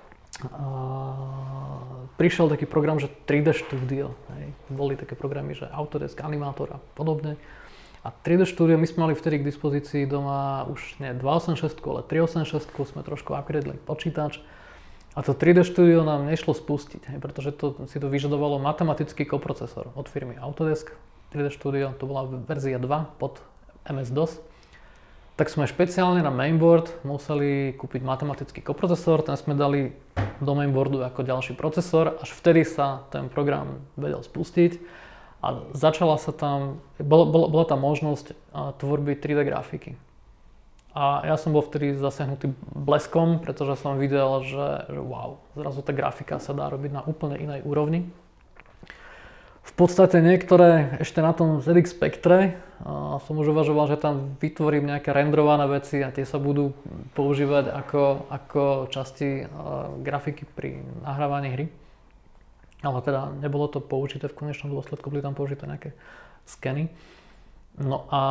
prišiel taký program, že 3D Studio. Hej. Boli také programy, že Autodesk, Animator a podobne. A 3D Studio my sme mali vtedy k dispozícii doma už nie 286, ale 386, sme trošku upgradeli počítač. A to 3D Studio nám nešlo spustiť, hej, pretože si to vyžadovalo matematický koprocesor od firmy Autodesk. 3D Studio, to bola verzia 2 pod MS-DOS. Tak sme špeciálne na mainboard museli kúpiť matematický koprocesor, ten sme dali do mainboardu ako ďalší procesor, až vtedy sa ten program vedel spustiť a začala sa tam, bola tam možnosť tvorby 3D grafiky. A ja som bol vtedy zasiahnutý bleskom, pretože som videl, že wow, zrazu tá grafika sa dá robiť na úplne inej úrovni. V podstate niektoré ešte na tom ZX Spectre som už uvažoval, že tam vytvorím nejaké renderované veci a tie sa budú používať ako časti grafiky pri nahrávaní hry. Ale teda nebolo to použité v konečnom dôsledku, boli tam použité nejaké skeny. No a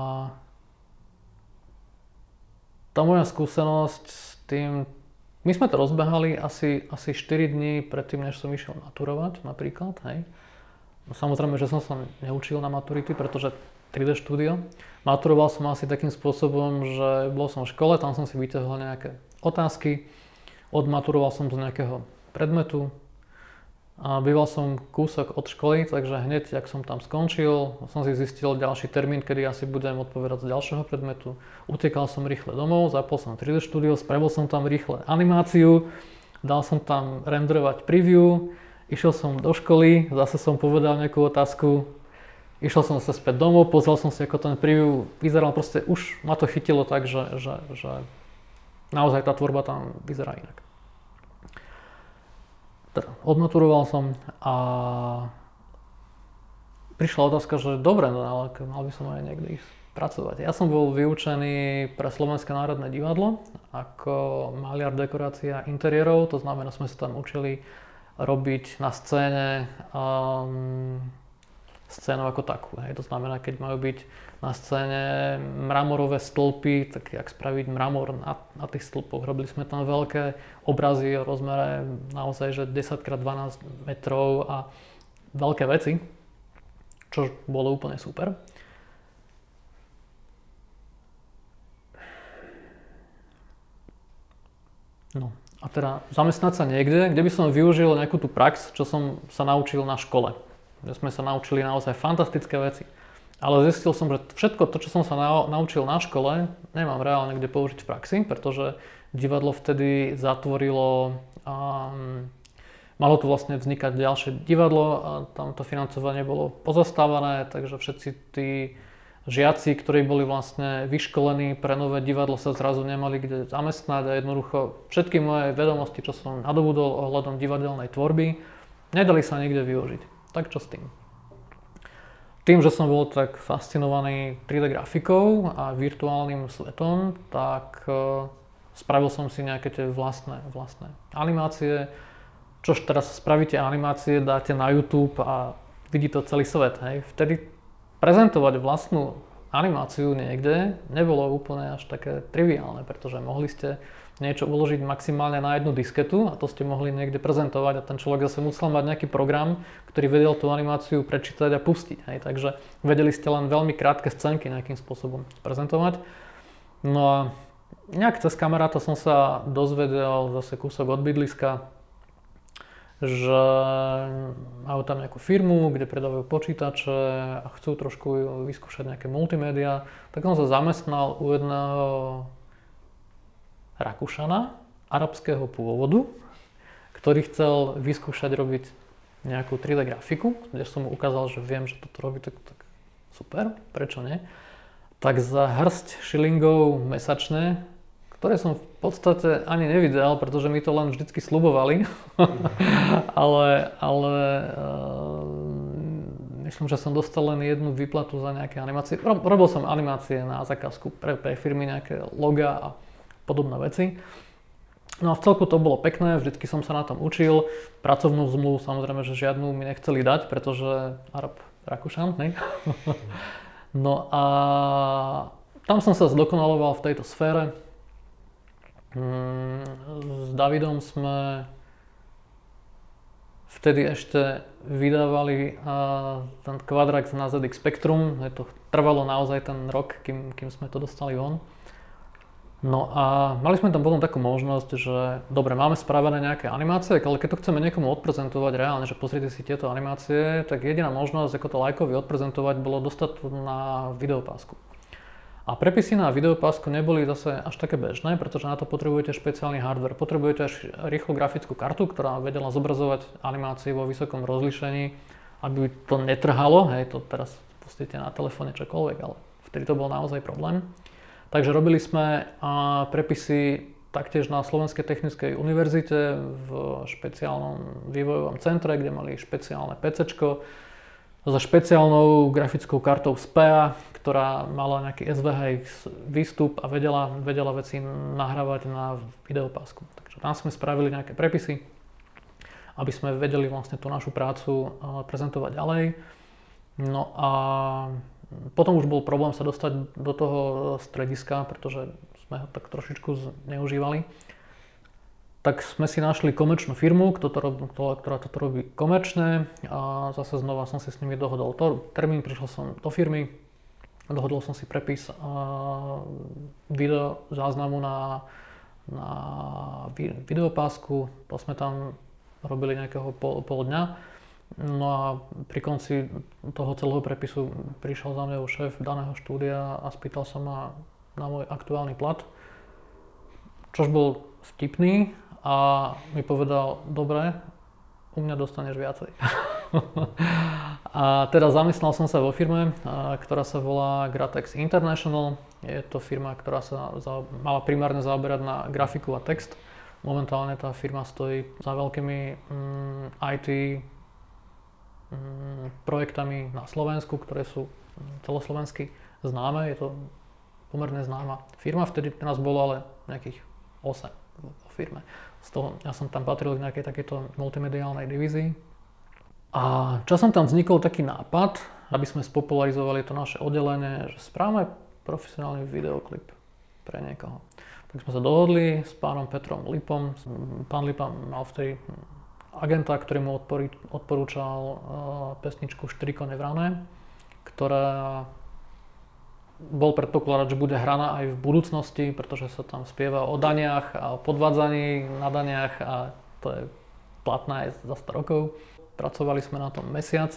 tá moja skúsenosť s tým, my sme to rozbehali asi 4 dní predtým, než som išiel maturovať napríklad, hej. Samozrejme, že som sa neučil na maturity, pretože 3D Studio. Maturoval som asi takým spôsobom, že bol som v škole, tam som si vyťahol nejaké otázky, odmaturoval som z nejakého predmetu a býval som kúsok od školy, takže hneď, jak som tam skončil, som si zistil ďalší termín, kedy asi budem odpovedať z ďalšieho predmetu. Utekal som rýchle domov, zapol som 3D Studio, spravil som tam rýchle animáciu, dal som tam renderovať preview, išiel som do školy, zase som povedal nejakú otázku, išiel som zase späť domov, pozrel som si, ako ten preview vyzeral, proste už ma to chytilo tak, že naozaj tá tvorba tam vyzerá inak. Teda odmaturoval som a prišla otázka, že dobre, no ale mal by som aj niekde ísť pracovať. Ja som bol vyučený pre Slovenské národné divadlo ako maliar dekorácia interiérov, to znamená, sme sa tam učili robiť na scéne scénu ako takú. Hej. To znamená, keď majú byť na scéne mramorové stĺpy, tak jak spraviť mramor na tých stĺpoch. Robili sme tam veľké obrazy o rozmere naozaj, že 10x12 metrov a veľké veci, čo bolo úplne super. No. A teda zamestnať sa niekde, kde by som využil nejakú tú prax, čo som sa naučil na škole. Že sme sa naučili naozaj fantastické veci. Ale zistil som, že všetko to, čo som sa naučil na škole, nemám reálne kde použiť v praxi, pretože divadlo vtedy zatvorilo, malo tu vlastne vznikať ďalšie divadlo a tam to financovanie bolo pozastávané, takže všetci tí žiaci, ktorí boli vlastne vyškolení pre nové divadlo, sa zrazu nemali kde zamestnať a jednoducho všetky moje vedomosti, čo som nadobudol ohľadom divadelnej tvorby, nedali sa nikde využiť. Tak čo s tým? Tým, že som bol tak fascinovaný 3D grafikou a virtuálnym svetom, tak spravil som si nejaké tie vlastné animácie. Čož teraz spravíte animácie, dáte na YouTube a vidí to celý svet. Hej. Vtedy prezentovať vlastnú animáciu niekde nebolo úplne až také triviálne, pretože mohli ste niečo uložiť maximálne na jednu disketu a to ste mohli niekde prezentovať a ten človek zase musel mať nejaký program, ktorý vedel tú animáciu prečítať a pustiť. Hej. Takže vedeli ste len veľmi krátke scénky nejakým spôsobom prezentovať. No a nejak cez kamaráta som sa dozvedel zase kúsok od bydliska, že majú tam nejakú firmu, kde predávajú počítače a chcú trošku vyskúšať nejaké multimédia, tak som sa zamestnal u jedného Rakúšana arabského pôvodu, ktorý chcel vyskúšať robiť nejakú 3D grafiku, kde som mu ukázal, že viem, že toto robí, tak super, prečo nie? Tak za hrst šilingov mesačne, ktoré som v podstate ani nevidel, pretože mi to len vždycky sľubovali, ale myslím, že som dostal len jednu výplatu za nejaké animácie. Robil som animácie na zákazku pre firmy, nejaké logá a podobné veci. No a v celku to bolo pekné, vždycky som sa na tom učil. Pracovnú zmluvu samozrejme, že žiadnu mi nechceli dať, pretože Rakúšan, hej? No a tam som sa zdokonaloval v tejto sfére. S Davidom sme vtedy ešte vydávali ten Quadrax na ZX Spectrum. To trvalo naozaj ten rok, kým sme to dostali von. No a mali sme tam potom takú možnosť, že dobre, máme spravené nejaké animácie, ale keď to chceme niekomu odprezentovať reálne, že pozrite si tieto animácie, tak jediná možnosť, ako to lajkovi odprezentovať, bolo dostať to na videopásku. A prepisy na videopásku neboli zase až také bežné, pretože na to potrebujete špeciálny hardware. Potrebujete až rýchlu grafickú kartu, ktorá vedela zobrazovať animácie vo vysokom rozlíšení, aby to netrhalo. Hej, to teraz pustíte na telefóne čokoľvek, ale vtedy to bol naozaj problém. Takže robili sme prepisy taktiež na Slovenskej technickej univerzite v špeciálnom vývojovom centre, kde mali špeciálne PCčko so špeciálnou grafickou kartou SPEA, ktorá mala nejaký SVHX výstup a vedela veci nahrávať na videopásku. Takže tam sme spravili nejaké prepisy, aby sme vedeli vlastne tú našu prácu prezentovať ďalej. No a potom už bol problém sa dostať do toho strediska, pretože sme ho tak trošičku zneužívali. Tak sme si našli komerčnú firmu, ktorá toto robí komerčne a zase znova som si s nimi dohodol termín, prišiel som do firmy, dohodol som si prepis video záznamu na videopásku, to sme tam robili nejakého pol dňa. No a pri konci toho celého prepisu prišiel za mňou šéf daného štúdia a spýtal sa ma na môj aktuálny plat, čož bol vtipný a mi povedal, dobre, u mňa dostaneš viacej. A teda zamestnal som sa vo firme, ktorá sa volá Gratex International. Je to firma, ktorá sa mala primárne zaoberať na grafiku a text. Momentálne tá firma stojí za veľkými IT projektami na Slovensku, ktoré sú celoslovensky známe. Je to pomerne známa firma. Vtedy nás bolo ale nejakých 8 vo firme. Z toho ja som tam patril k nejakej takejto multimediálnej divízii. A časom tam vznikol taký nápad, aby sme spopularizovali to naše oddelenie, že správame profesionálny videoklip pre niekoho. Tak sme sa dohodli s pánom Petrom Lipom. Pán Lipa mal vtedy agenta, ktorý mu odporúčal pesničku Štyri kone vrané, ktorá bol predpokladať, že bude hraná aj v budúcnosti, pretože sa tam spieva o daniach a o podvádzaní na daniach a to je platné aj za 100 rokov. Pracovali sme na tom mesiac.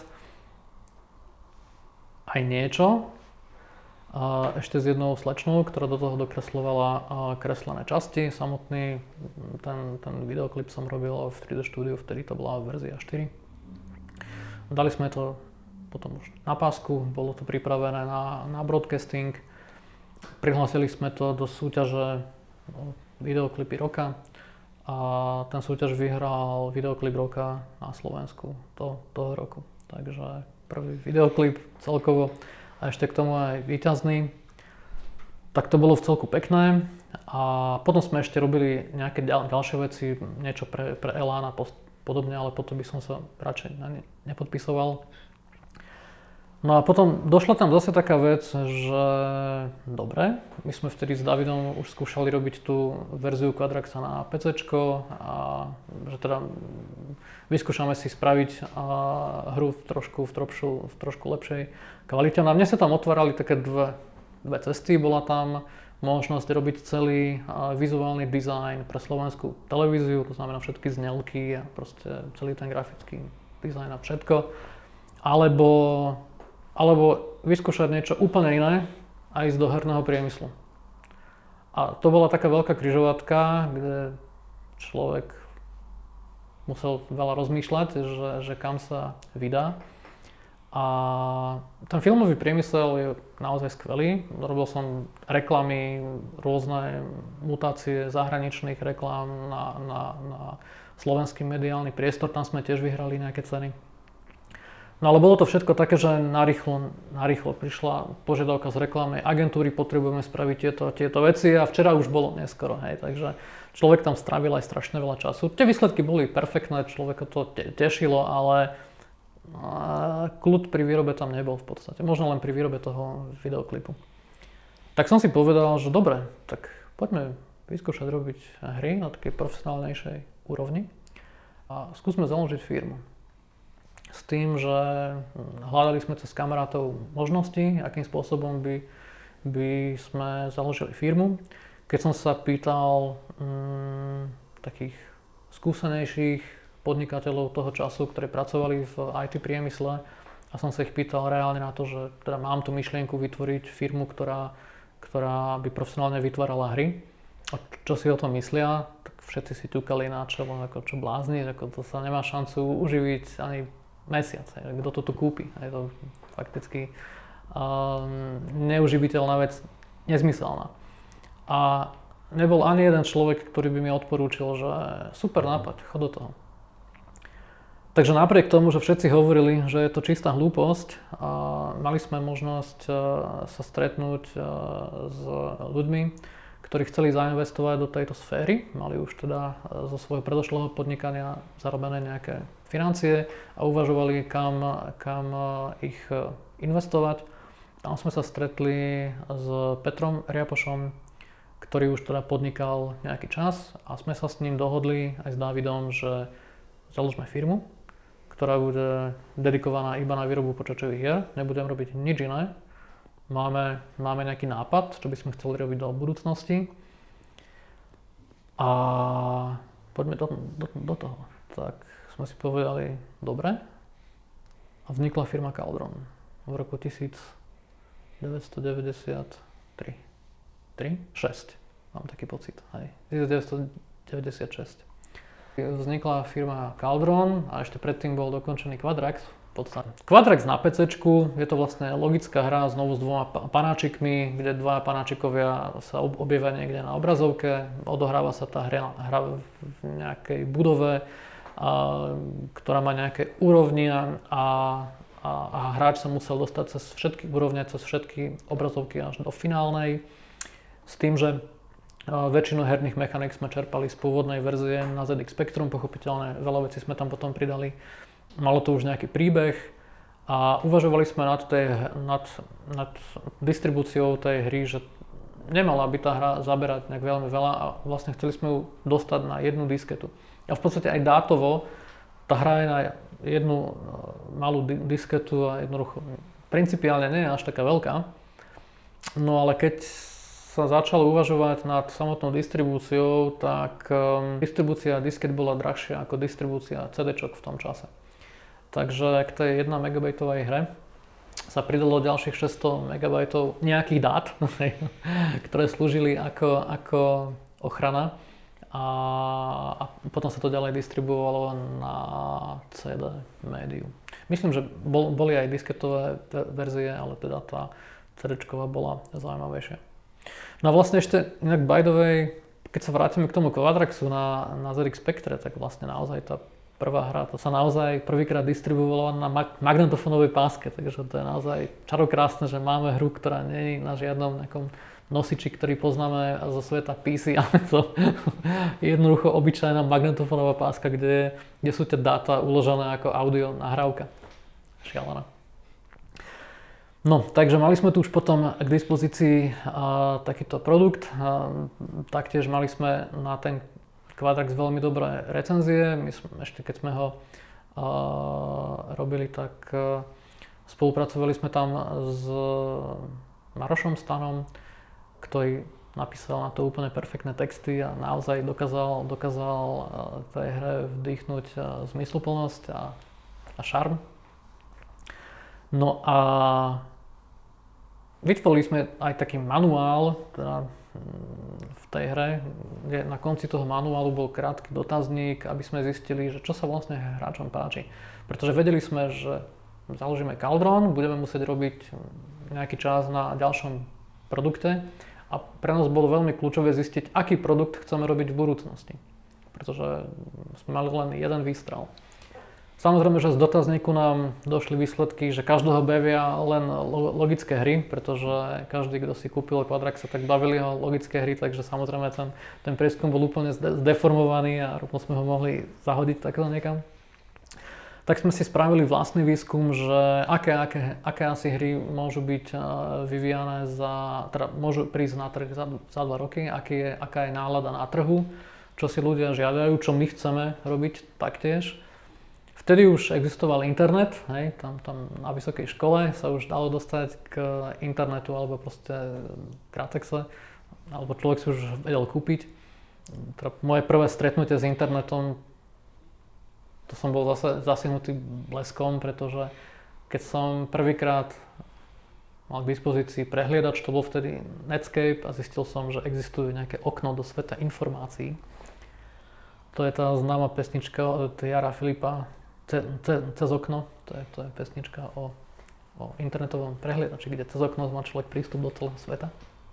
Aj niečo. Ešte s jednou slečnou, ktorá do toho dokresľovala kreslené časti. Samotný ten videoklip som robil v 3D štúdiu, vtedy to bola verzia 4. Dali sme to potom už na pásku, bolo to pripravené na broadcasting. Prihlásili sme to do súťaže videoklipy roka a ten súťaž vyhral videoklip roka na Slovensku toho roku. Takže prvý videoklip celkovo a ešte k tomu aj víťazný. Tak to bolo v celku pekné a potom sme ešte robili nejaké ďalšie veci, niečo pre Elán a podobne, ale potom by som sa radšej nepodpisoval. No a potom došla tam zase taká vec, že dobre, my sme vtedy s Davidom už skúšali robiť tú verziu Quadraxa na PCčko a že teda vyskúšame si spraviť hru v trošku lepšej kvalite. No a mne sa tam otvárali také dve cesty. Bola tam možnosť robiť celý vizuálny dizajn pre slovenskú televíziu, to znamená všetky znelky a proste celý ten grafický dizajn a všetko. Alebo vyskúšať niečo úplne iné a ísť do herného priemyslu. A to bola taká veľká križovatka, kde človek musel veľa rozmýšľať, že kam sa vydá. A ten filmový priemysel je naozaj skvelý. Robil som reklamy, rôzne mutácie zahraničných reklám na slovenský mediálny priestor. Tam sme tiež vyhrali nejaké ceny. No ale bolo to všetko také, že narýchlo prišla požiadavka z reklamnej agentúry, potrebujeme spraviť tieto veci a včera už bolo neskoro, hej, takže človek tam strávil aj strašne veľa času. Tie výsledky boli perfektné, človeka to tešilo, ale kľud pri výrobe tam nebol v podstate, možno len pri výrobe toho videoklipu. Tak som si povedal, že dobre, tak poďme vyskúšať robiť hry na takej profesionálnejšej úrovni a skúsme založiť firmu. S tým, že hľadali sme cez kamarátov možnosti, akým spôsobom by sme založili firmu. Keď som sa pýtal takých skúsenejších podnikateľov toho času, ktorí pracovali v IT priemysle a som sa ich pýtal reálne na to, že teda mám tú myšlienku vytvoriť firmu, ktorá by profesionálne vytvárala hry a čo si o tom myslia, tak všetci si ťukali na čelo, ako čo blázni, ako to sa nemá šancu uživiť ani mesiac, kto to tu kúpi. Je to fakticky neuživiteľná vec, nezmyselná. A nebol ani jeden človek, ktorý by mi odporúčil, že super nápad, chod do toho. Takže napriek tomu, že všetci hovorili, že je to čistá hlúposť, mali sme možnosť sa stretnúť s ľuďmi, ktorí chceli zainvestovať do tejto sféry, mali už teda zo svojho predošlého podnikania zarobené nejaké financie a uvažovali, kam ich investovať. Tam sme sa stretli s Petrom Riapošom, ktorý už teda podnikal nejaký čas a sme sa s ním dohodli aj s Dávidom, že založme firmu, ktorá bude dedikovaná iba na výrobu počítačových hier, nebudem robiť nič iné. Máme nejaký nápad, čo by sme chceli robiť do budúcnosti a poďme do toho. Tak sme si povedali, dobre, a vznikla firma Cauldron v roku 1993. 6, mám taký pocit, hej. 1996. Vznikla firma Cauldron a ešte predtým bol dokončený Quadrax. Quadrax na PCčku, je to vlastne logická hra znovu s dvoma panáčikmi, kde dva panáčikovia sa objavia niekde na obrazovke. Odohráva sa tá hra v nejakej budove, ktorá má nejaké úrovne a hráč sa musel dostať cez všetky úrovne, cez všetky obrazovky až do finálnej. S tým, že väčšinu herných mechanik sme čerpali z pôvodnej verzie na ZX Spectrum, pochopiteľne veľa vecí sme tam potom pridali. Malo to už nejaký príbeh a uvažovali sme nad distribúciou tej hry, že nemala by tá hra zaberať nejak veľmi veľa a vlastne chceli sme ju dostať na jednu disketu. A v podstate aj dátovo tá hra je na jednu malú disketu a jednoducho principiálne nie je až taká veľká. No ale keď sa začalo uvažovať nad samotnou distribúciou, tak distribúcia disket bola drahšia ako distribúcia CD-čok v tom čase. Takže k tej 1 megabajtovej hre sa pridalo ďalších 600 megabajtov nejakých dát, ktoré slúžili ako ochrana a potom sa to ďalej distribuovalo na CD médiu. Myslím, že boli aj disketové verzie, ale teda tá CD-čková bola zaujímavejšia. No a vlastne ešte inak by the way, keď sa vrátime k tomu Quadraxu na ZX Spectre, tak vlastne naozaj tá prvá hra, to sa naozaj prvýkrát distribuovala na magnetofónovej páske, takže to je naozaj čarokrásne, že máme hru, ktorá nie je na žiadnom nejakom nosiči, ktorý poznáme zo sveta PC, ale to je jednoducho obyčajná magnetofónová páska, kde sú tie dáta uložené ako audio nahrávka. Šialené. No, takže mali sme tu už potom k dispozícii takýto produkt. Taktiež mali sme na ten Quadrax veľmi dobré recenzie. My sme, ešte keď sme ho robili, tak spolupracovali sme tam s Marošom Stanom, ktorý napísal na to úplne perfektné texty a naozaj dokázal tej hre vdýchnuť zmysluplnosť a šarm. No a vytvorili sme aj taký manuál teda v tej hre, kde na konci toho manuálu bol krátky dotazník, aby sme zistili, že čo sa vlastne hráčom páči. Pretože vedeli sme, že založíme Cauldron, budeme musieť robiť nejaký čas na ďalšom produkte a pre nás bolo veľmi kľúčové zistiť, aký produkt chceme robiť v budúcnosti. Pretože sme mali len jeden výstrel. Samozrejme, že z dotazníku nám došli výsledky, že každého bavia len logické hry, pretože každý, kto si kúpil Quadraxa, tak bavili ho logické hry, takže samozrejme ten prieskum bol úplne zdeformovaný a rovno sme ho mohli zahodiť takto niekam. Tak sme si spravili vlastný výskum, že aké asi hry môžu byť vyvíjane teda môžu prísť na trh za 2 roky, aká je nálada na trhu, čo si ľudia žiadajú, čo my chceme robiť taktiež. Vtedy už existoval internet, hej, tam na vysokej škole sa už dalo dostať k internetu alebo proste Kratexe, alebo človek si už vedel kúpiť. Teda moje prvé stretnutie s internetom, to som bol zase zasihnutý bleskom, pretože keď som prvýkrát mal k dispozícii prehliadač, to bol vtedy Netscape a zistil som, že existuje nejaké okno do sveta informácií. To je tá známa pesnička od Jara Filipa, Cez okno, to je pesnička o internetovom prehliadači, kde cez okno má človek prístup do celého sveta.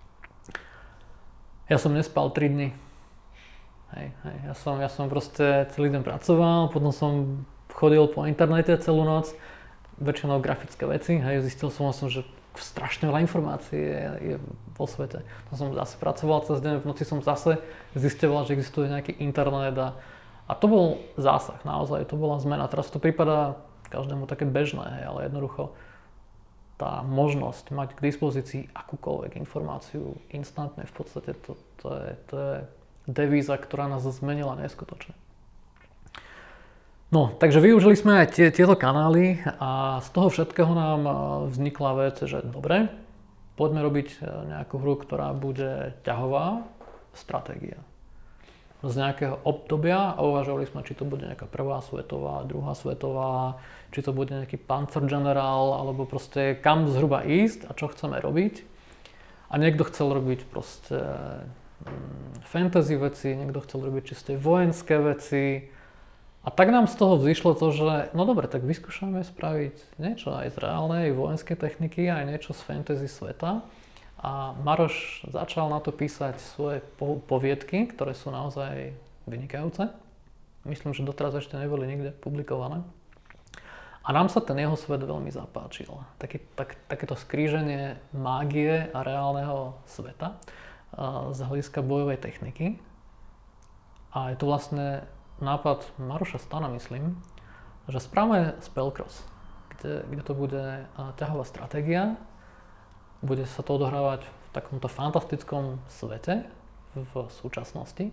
Ja som nespal 3 dni. Hej. Ja som proste celý deň pracoval, potom som chodil po internete celú noc, väčšinou grafické veci, hej, zistil som, že strašne veľa informácií je vo svete. Potom som zase pracoval cez deň, v noci som zase zisťoval, že existuje nejaký internet a to bol zásah, naozaj, to bola zmena. Teraz to prípada každému také bežné, hej, ale jednoducho tá možnosť mať k dispozícii akúkoľvek informáciu instantne, v podstate to je devíza, ktorá nás zmenila neskutočne. No, takže využili sme aj tieto kanály a z toho všetkého nám vznikla vec, že dobre, poďme robiť nejakú hru, ktorá bude ťahová stratégia. Z nejakého obdobia a uvažovali sme, či to bude nejaká prvá svetová, druhá svetová, či to bude nejaký Panzergeneral, alebo proste kam zhruba ísť a čo chceme robiť. A niekto chcel robiť proste fantasy veci, niekto chcel robiť čisté vojenské veci. A tak nám z toho vzýšlo to, že no dobre, tak vyskúšame spraviť niečo aj z reálnej vojenskej techniky, aj niečo z fantasy sveta. A Maroš začal na to písať svoje poviedky, ktoré sú naozaj vynikajúce. Myslím, že doteraz ešte neboli nikde publikované. A nám sa ten jeho svet veľmi zapáčil. Takéto skríženie mágie a reálneho sveta z hľadiska bojovej techniky. A je to vlastne nápad Maroša Stana, myslím, že správame Spellcross, kde to bude ťahová stratégia. Bude sa to odohrávať v takomto fantastickom svete v súčasnosti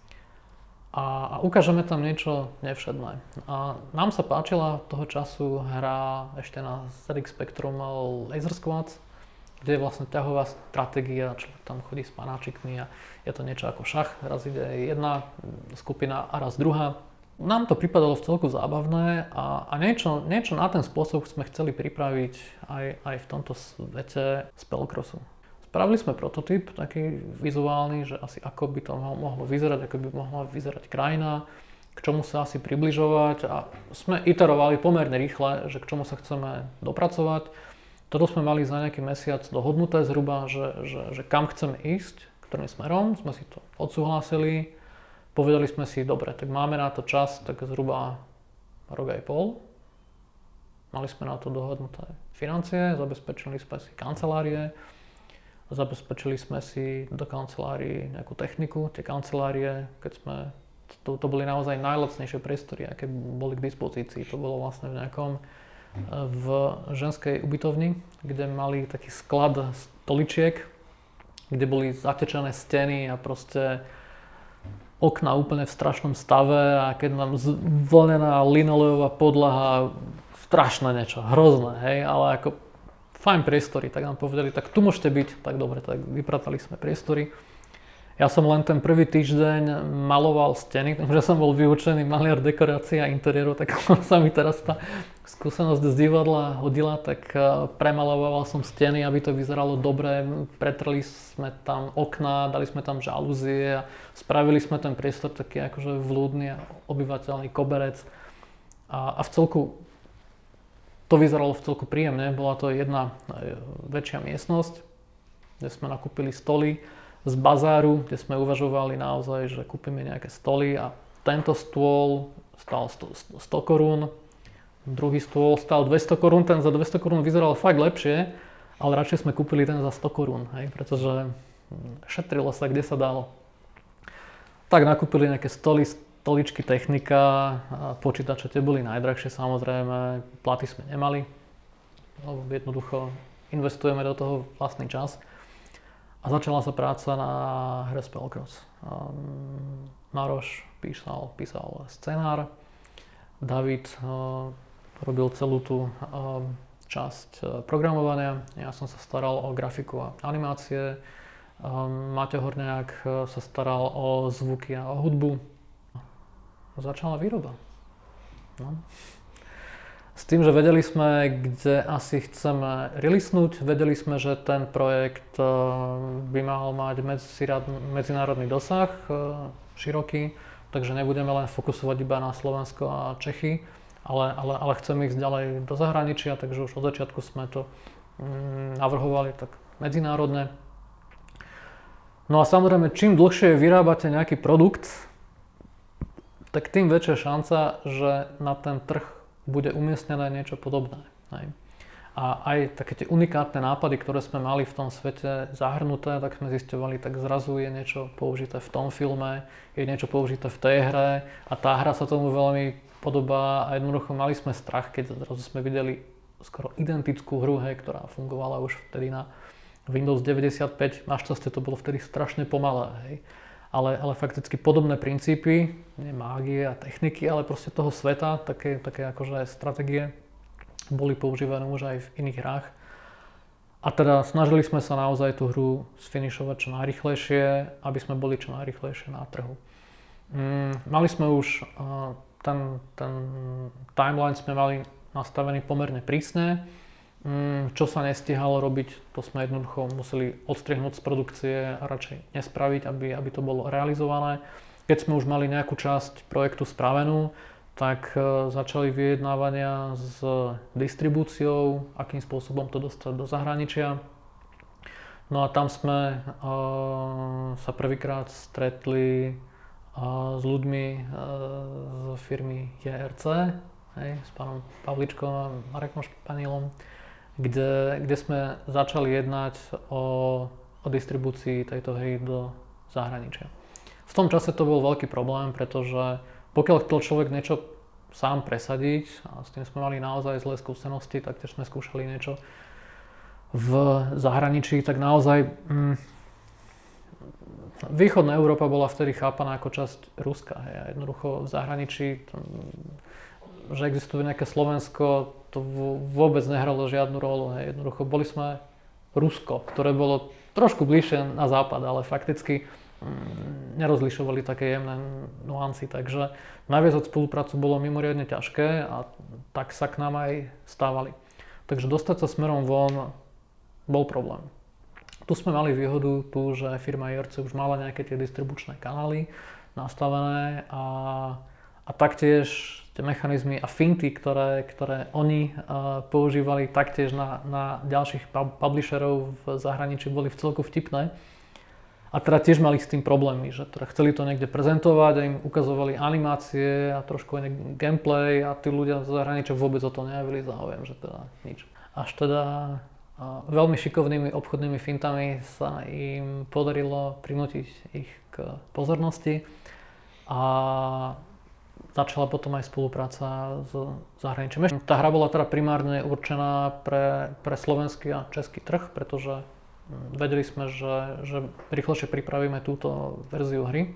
a ukážeme tam niečo nevšedné. A nám sa páčila toho času hra ešte na ZX Spectrum Laser Squads, kde je vlastne ťahová stratégia, človek tam chodí s panáčikmi a je to niečo ako šach, raz ide jedna skupina a raz druhá. Nám to pripadalo v celku zábavné a niečo na ten spôsob sme chceli pripraviť aj v tomto svete Spellcrossu. Spravili sme prototyp taký vizuálny, že asi ako by to mohlo vyzerať, ako by mohla vyzerať krajina, k čomu sa asi približovať a sme iterovali pomerne rýchle, že k čomu sa chceme dopracovať. Toto sme mali za nejaký mesiac dohodnuté zhruba, že kam chceme ísť, ktorým smerom, sme si to odsúhlasili. Povedali sme si, dobre, tak máme na to čas, tak zhruba rok aj pol. Mali sme na to dohodnuté financie, zabezpečili sme si kancelárie, zabezpečili sme si do kancelárií nejakú techniku. Tie kancelárie, keď sme, to boli naozaj najlacnejšie priestory, aké boli k dispozícii. To bolo vlastne v nejakom v ženskej ubytovni, kde mali taký sklad stoličiek, kde boli zatečené steny a proste okna úplne v strašnom stave a keď nám zvlnená linoleová podlaha, strašné niečo, hrozné, hej, ale ako fajn priestory, tak nám povedali, tak tu môžete byť, tak dobre, tak vypratali sme priestory. Ja som len ten prvý týždeň maloval steny, takže som bol vyučený maliar dekorácií a interiérov, tak sa mi teraz tá skúsenosť z divadla hodila, tak premaloval som steny, aby to vyzeralo dobre, pretreli sme tam okná, dali sme tam žalúzie a spravili sme ten priestor taký akože vľúdny a obyvateľný koberec a v celku to vyzeralo v celku príjemne, bola to jedna väčšia miestnosť, kde sme nakúpili stoly z bazáru, kde sme uvažovali naozaj, že kúpime nejaké stoly a tento stôl stal 100 korún, druhý stôl stal 200 korún, ten za 200 korún vyzeral fakt lepšie, ale radšej sme kúpili ten za 100 korún, hej, pretože šetrilo sa, kde sa dalo. Tak nakúpili nejaké stoly, stoličky, technika, počítače, tie boli najdrahšie samozrejme, platy sme nemali, no, jednoducho investujeme do toho vlastný čas. A začala sa práca na hre Spellcross. Maroš písal scenár, David robil celú tú časť programovania, ja som sa staral o grafiku a animácie, Maťo Horňák sa staral o zvuky a o hudbu. Začala výroba. No. S tým, že vedeli sme, kde asi chceme releasenúť, vedeli sme, že ten projekt by mal mať medzinárodný dosah, široký, takže nebudeme len fokusovať iba na Slovensko a Čechy, ale chceme ísť ďalej do zahraničia, takže už od začiatku sme to navrhovali tak medzinárodne. No a samozrejme, čím dlhšie vyrábate nejaký produkt, tak tým väčšia šanca, že na ten trh bude umiestnené niečo podobné. Hej. A aj také tie unikátne nápady, ktoré sme mali v tom svete zahrnuté, tak sme zisťovali, tak zrazu je niečo použité v tom filme, je niečo použité v tej hre a tá hra sa tomu veľmi podobá a jednoducho mali sme strach, keď zrazu sme videli skoro identickú hru, hej, ktorá fungovala už vtedy na Windows 95. Našťastie to bolo vtedy strašne pomalé. Hej. Ale fakticky podobné princípy, nie mágie a techniky, ale proste toho sveta, také akože stratégie boli používané už aj v iných hrách. A teda snažili sme sa naozaj tú hru sfinišovať čo najrýchlejšie, aby sme boli čo najrýchlejšie na trhu. Mali sme už ten timeline sme mali nastavený pomerne prísne. Čo sa nestihalo robiť, to sme jednoducho museli odstrihnúť z produkcie a radšej nespraviť, aby to bolo realizované. Keď sme už mali nejakú časť projektu spravenú, tak začali vyjednávania s distribúciou, akým spôsobom to dostať do zahraničia. No a tam sme sa prvýkrát stretli s ľuďmi z firmy JRC, s pánom Pavličkom a Marekom Španielom, kde sme začali jednať o distribúcii tejto hry do zahraničia. V tom čase to bol veľký problém, pretože pokiaľ chcel človek niečo sám presadiť, a s tým sme mali naozaj zlé skúsenosti, tak tiež sme skúšali niečo v zahraničí, tak naozaj východná Európa bola vtedy chápaná ako časť Ruska. Hej. A jednoducho v zahraničí, že existuje nejaké Slovensko, to vôbec nehralo žiadnu rolu. Hej. Jednoducho boli sme Rusko, ktoré bolo trošku bližšie na západ, ale fakticky nerozlišovali také jemné nuancy, takže naviazať spoluprácu bolo mimoriadne ťažké a tak sa k nám aj stávali. Takže dostať sa smerom von bol problém. Tu sme mali výhodu tu, že firma JRC už mala nejaké tie distribučné kanály nastavené a taktiež tie mechanizmy a finty, ktoré oni používali taktiež na ďalších publisherov v zahraničí, boli v celku vtipné. A teda tiež mali s tým problémy, že teda chceli to niekde prezentovať a im ukazovali animácie a trošku aj gameplay a tí ľudia z zahraničia vôbec o to nejavili záujem, že teda nič. Až teda veľmi šikovnými obchodnými fintami sa im podarilo prinútiť ich k pozornosti a začala potom aj spolupráca s zahraničím. Tá hra bola teda primárne určená pre slovenský a český trh, pretože vedeli sme, že rýchlejšie pripravíme túto verziu hry.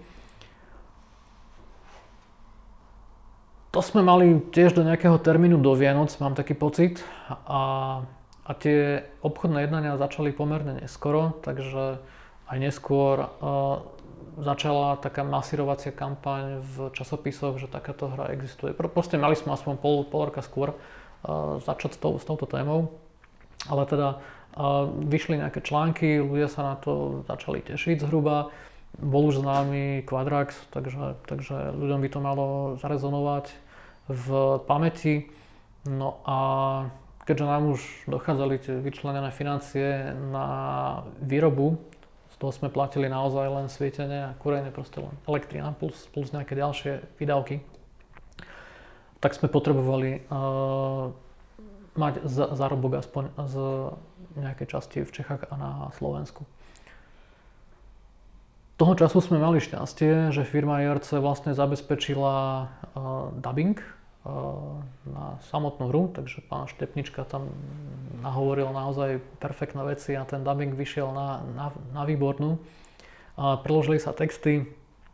To sme mali tiež do nejakého termínu do Vianoc, mám taký pocit. A tie obchodné jednania začali pomerne neskoro, takže aj neskôr začala taká masírovacia kampaň v časopisoch, že takáto hra existuje. Proste mali sme aspoň pol roka skôr začať s touto témou. Ale teda vyšli nejaké články, ľudia sa na to začali tešiť zhruba. Bol už známy Quadrax, takže ľuďom by to malo zarezonovať v pamäti. No a keďže nám už dochádzali tie vyčlenené financie na výrobu, z toho sme platili naozaj len svietenie a kúrenie, proste len elektrina plus nejaké ďalšie výdavky, tak sme potrebovali mať zárobok aspoň z nejakej časti v Čechách a na Slovensku. Toho času sme mali šťastie, že firma IRC vlastne zabezpečila dubbing na samotnú hru, takže pán Štepnička tam nahovoril naozaj perfektné veci a ten dubbing vyšiel na výbornú. Preložili sa texty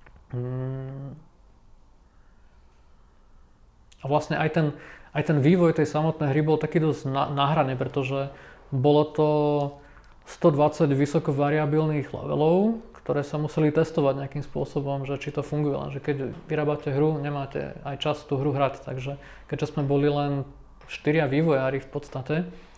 a vlastne aj ten vývoj tej samotnej hry bol taký dosť na hrane, pretože bolo to 120 vysoko variabilných levelov, ktoré sa museli testovať nejakým spôsobom, že či to funguje, lenže keď vyrábate hru, nemáte aj čas tú hru hrať, takže keďže sme boli len 4 vývojári v podstate,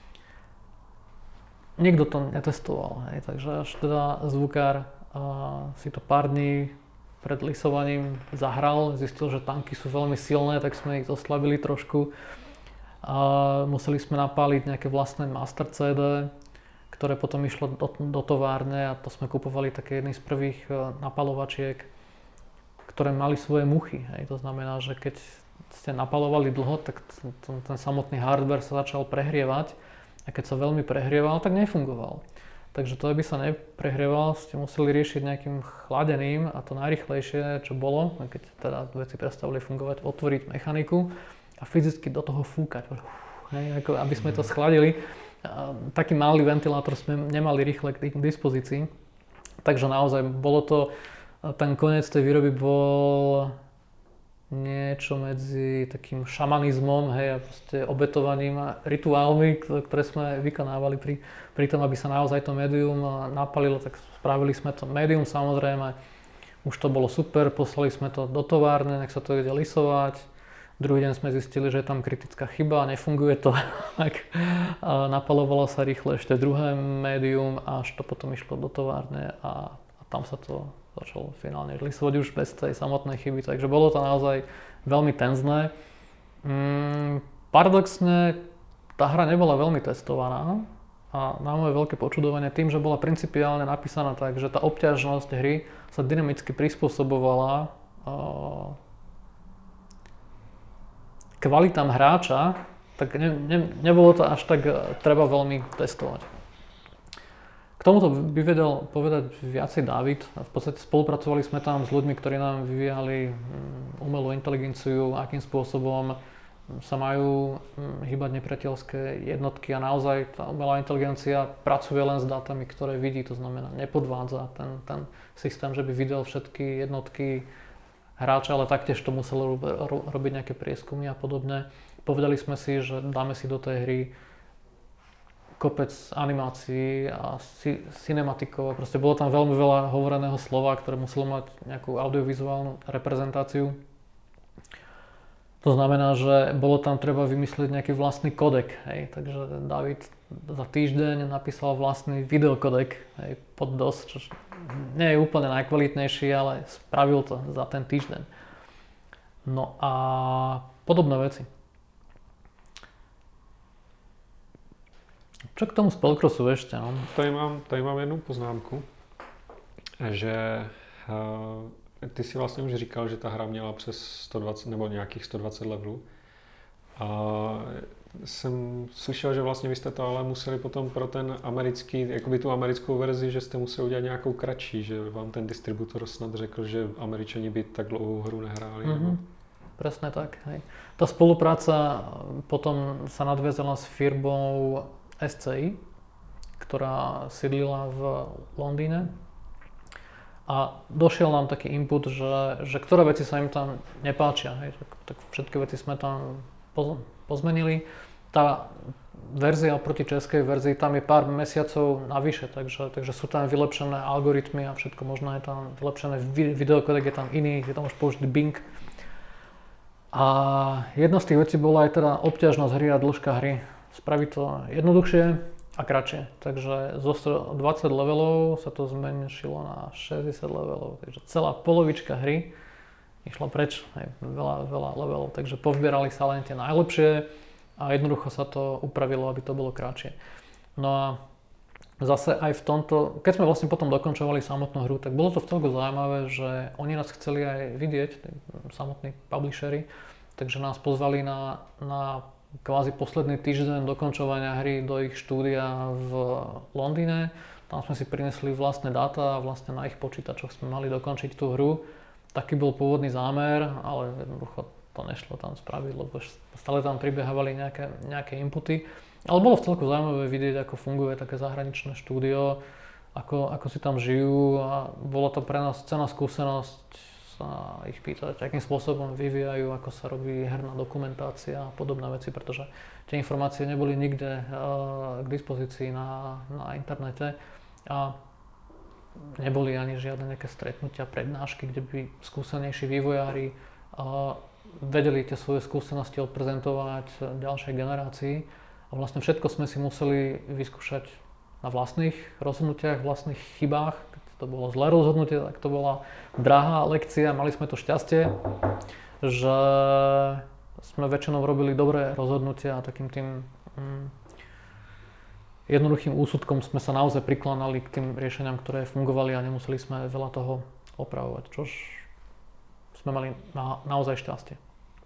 nikto to netestoval, hej, takže až teda zvukár si to pár dní pred lisovaním zahral, zistil, že tanky sú veľmi silné, tak sme ich zoslabili trošku a museli sme napáliť nejaké vlastné master CD, ktoré potom išlo do továrne a to sme kupovali také jedny z prvých napalovačiek, ktoré mali svoje muchy. Hej. To znamená, že keď ste napalovali dlho, tak ten samotný hardware sa začal prehrievať a keď sa veľmi prehrieval, tak nefungoval. Takže to, aby sa neprehrieval, ste museli riešiť nejakým chladeným a to najrýchlejšie, čo bolo, keď teda veci prestali fungovať, otvoriť mechaniku a fyzicky do toho fúkať. Hej, ako aby sme to schladili. Taký malý ventilátor sme nemali rýchle k dispozícii, takže naozaj bolo to, ten koniec tej výroby bol niečo medzi takým šamanizmom, hej, a proste obetovaním a rituálmi, ktoré sme vykonávali pri tom, aby sa naozaj to médium napalilo, tak spravili sme to médium samozrejme, už to bolo super, poslali sme to do továrne, nech sa to ide lisovať. Druhý deň sme zistili, že je tam kritická chyba, nefunguje to, tak napalovalo sa rýchle ešte druhé médium, až to potom išlo do továrne a tam sa to začalo finálne lisovať už bez tej samotnej chyby, takže bolo to naozaj veľmi tenzné. Paradoxne, tá hra nebola veľmi testovaná a na moje veľké počudovanie tým, že bola principiálne napísaná tak, že tá obťažnosť hry sa dynamicky prispôsobovala kvalitám hráča, tak nebolo to až tak treba veľmi testovať. K tomuto by vedel povedať viacej Dávid. V podstate spolupracovali sme tam s ľuďmi, ktorí nám vyvíjali umelú inteligenciu, akým spôsobom sa majú hýbať nepriateľské jednotky a naozaj tá umelá inteligencia pracuje len s dátami, ktoré vidí, to znamená nepodvádza ten systém, že by videl všetky jednotky hráča, ale taktiež to muselo robiť nejaké prieskumy a podobne. Povedali sme si, že dáme si do tej hry kopec animácií a cinematikov. Proste bolo tam veľmi veľa hovoreného slova, ktoré muselo mať nejakú audiovizuálnu reprezentáciu. To znamená, že bolo tam treba vymyslieť nejaký vlastný kodek. Hej. Takže David za týždeň napísal vlastný videokodek, hej, pod DOS, čo nie je úplne najkvalitnejší, ale spravil to za ten týždeň. No a podobné veci. Čo k tomu spellcrossu ešte? No? Tady mám jednu poznámku, že ty si vlastně už říkal, že ta hra měla přes 120 nebo nějakých 120 levelů. A jsem slyšel, že vlastně vy jste to ale museli potom pro ten americký, jakoby tu americkou verzi, že jste museli udělat nějakou kratší, že vám ten distributor snad řekl, že Američani by tak dlouhou hru nehráli. Mm-hmm. presne tak. Hej. Tá spolupráca potom sa nadviazala s firmou SCI, ktorá sídlila v Londýne. A došiel nám taký input, že ktoré veci sa im tam nepáčia. Hej. Tak všetky veci sme tam pozmenili. Tá verzia oproti českej verzii, tam je pár mesiacov navyše, takže sú tam vylepšené algoritmy a všetko možno je tam vylepšené, videokodek je tam iný, je tam už použitý Bing. A jedna z tých vecí bola aj teda obťažnosť hry a dĺžka hry. Spraviť to jednoduchšie a kratšie. Takže zo 120 levelov sa to zmenšilo na 60 levelov, takže celá polovička hry išla preč, veľa levelov, takže povybierali sa len tie najlepšie a jednoducho sa to upravilo, aby to bolo kratšie. No a zase aj v tomto, keď sme vlastne potom dokončovali samotnú hru, tak bolo to vcelku zaujímavé, že oni nás chceli aj vidieť, samotní publishery, takže nás pozvali na kvázi posledný týždeň dokončovania hry do ich štúdia v Londýne. Tam sme si prinesli vlastné dáta a vlastne na ich počítačoch sme mali dokončiť tú hru. Taký bol pôvodný zámer, ale jednoducho to nešlo tam spraviť, lebo stále tam pribiehávali nejaké inputy. Ale bolo vcelku zaujímavé vidieť, ako funguje také zahraničné štúdio, ako si tam žijú a bola to pre nás cenná skúsenosť sa ich pýtať, akým spôsobom vyvíjajú, ako sa robí herná dokumentácia a podobné veci, pretože tie informácie neboli nikde k dispozícii na internete a neboli ani žiadne nejaké stretnutia, prednášky, kde by skúsenejší vývojári vedeli tie svoje skúsenosti odprezentovať ďalšej generácii a vlastne všetko sme si museli vyskúšať na vlastných rozhodnutiach, vlastných chybách. Keď to bolo zlé rozhodnutie, tak to bola drahá lekcia. Mali sme to šťastie, že sme väčšinou robili dobré rozhodnutia a takým tým jednoduchým úsudkom sme sa naozaj prikláňali k tým riešeniam, ktoré fungovali a nemuseli sme veľa toho opravovať, čož sme mali naozaj šťastie.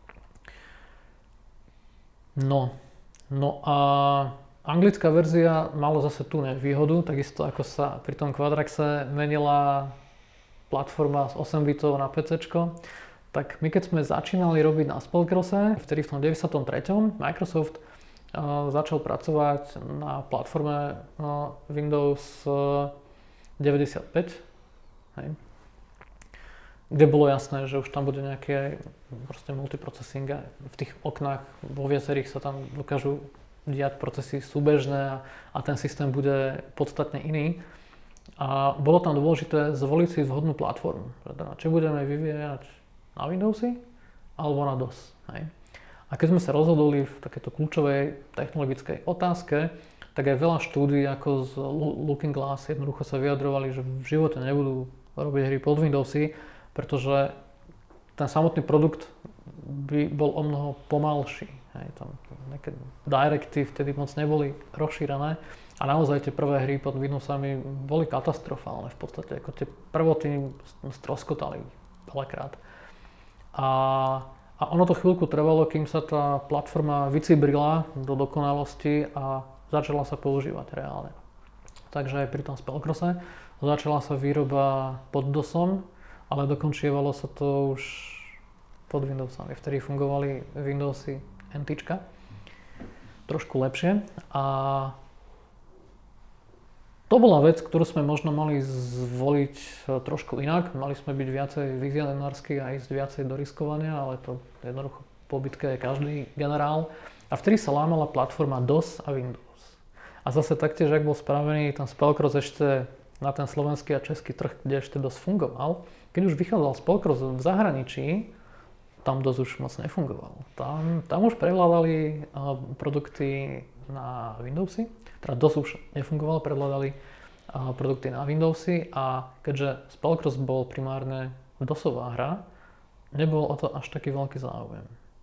No a anglická verzia mala zase tú nevýhodu, takisto ako sa pri tom Quadraxe menila platforma z 8 bitov na PCčko, tak my keď sme začínali robiť na Spellcrosse, vtedy v tom 93. Microsoft začal pracovať na platforme Windows 95, hej, kde bolo jasné, že už tam bude nejaké proste multiprocessing a v tých oknách vo viacerých sa tam dokážu diať procesy súbežné a ten systém bude podstatne iný. A bolo tam dôležité zvoliť si vhodnú platformu. Či budeme vyvíjať na Windowsy alebo na DOS. Hej. A keď sme sa rozhodli v takéto kľúčovej technologickej otázke, tak aj veľa štúdií ako z Looking Glass jednoducho sa vyjadrovali, že v živote nebudú robiť hry pod Windowsy, pretože ten samotný produkt by bol o mnoho pomalší. Hej, tam nejaké directy vtedy moc neboli rozšírené a naozaj tie prvé hry pod Windowsami boli katastrofálne v podstate, ako tie prvoty stroskotali veľakrát. A ono to chvíľku trvalo, kým sa tá platforma vycibrila do dokonalosti a začala sa používať reálne. Takže aj pri tom Spellcrosse začala sa výroba pod DOSom, ale dokončievalo sa to už pod Windowsami. Vtedy fungovali Windowsy NTčka trošku lepšie a to bola vec, ktorú sme možno mali zvoliť trošku inak. Mali sme byť viacej vizionársky a ísť viacej do riskovania, ale to jednoducho po bitke je každý generál. A vtedy sa lámala platforma DOS a Windows. A zase taktiež, ak bol spravený ten Spellcross ešte na ten slovenský a český trh, kde ešte DOS fungoval, keď už vychádzal Spellcross v zahraničí, tam DOS už moc nefungoval. Tam už prevládali produkty na Windowsy, teda DOS už nefungoval, prevládali produkty na Windowsy a keďže Spellcross bol primárne DOSová hra, nebol o to až taký veľký záujem.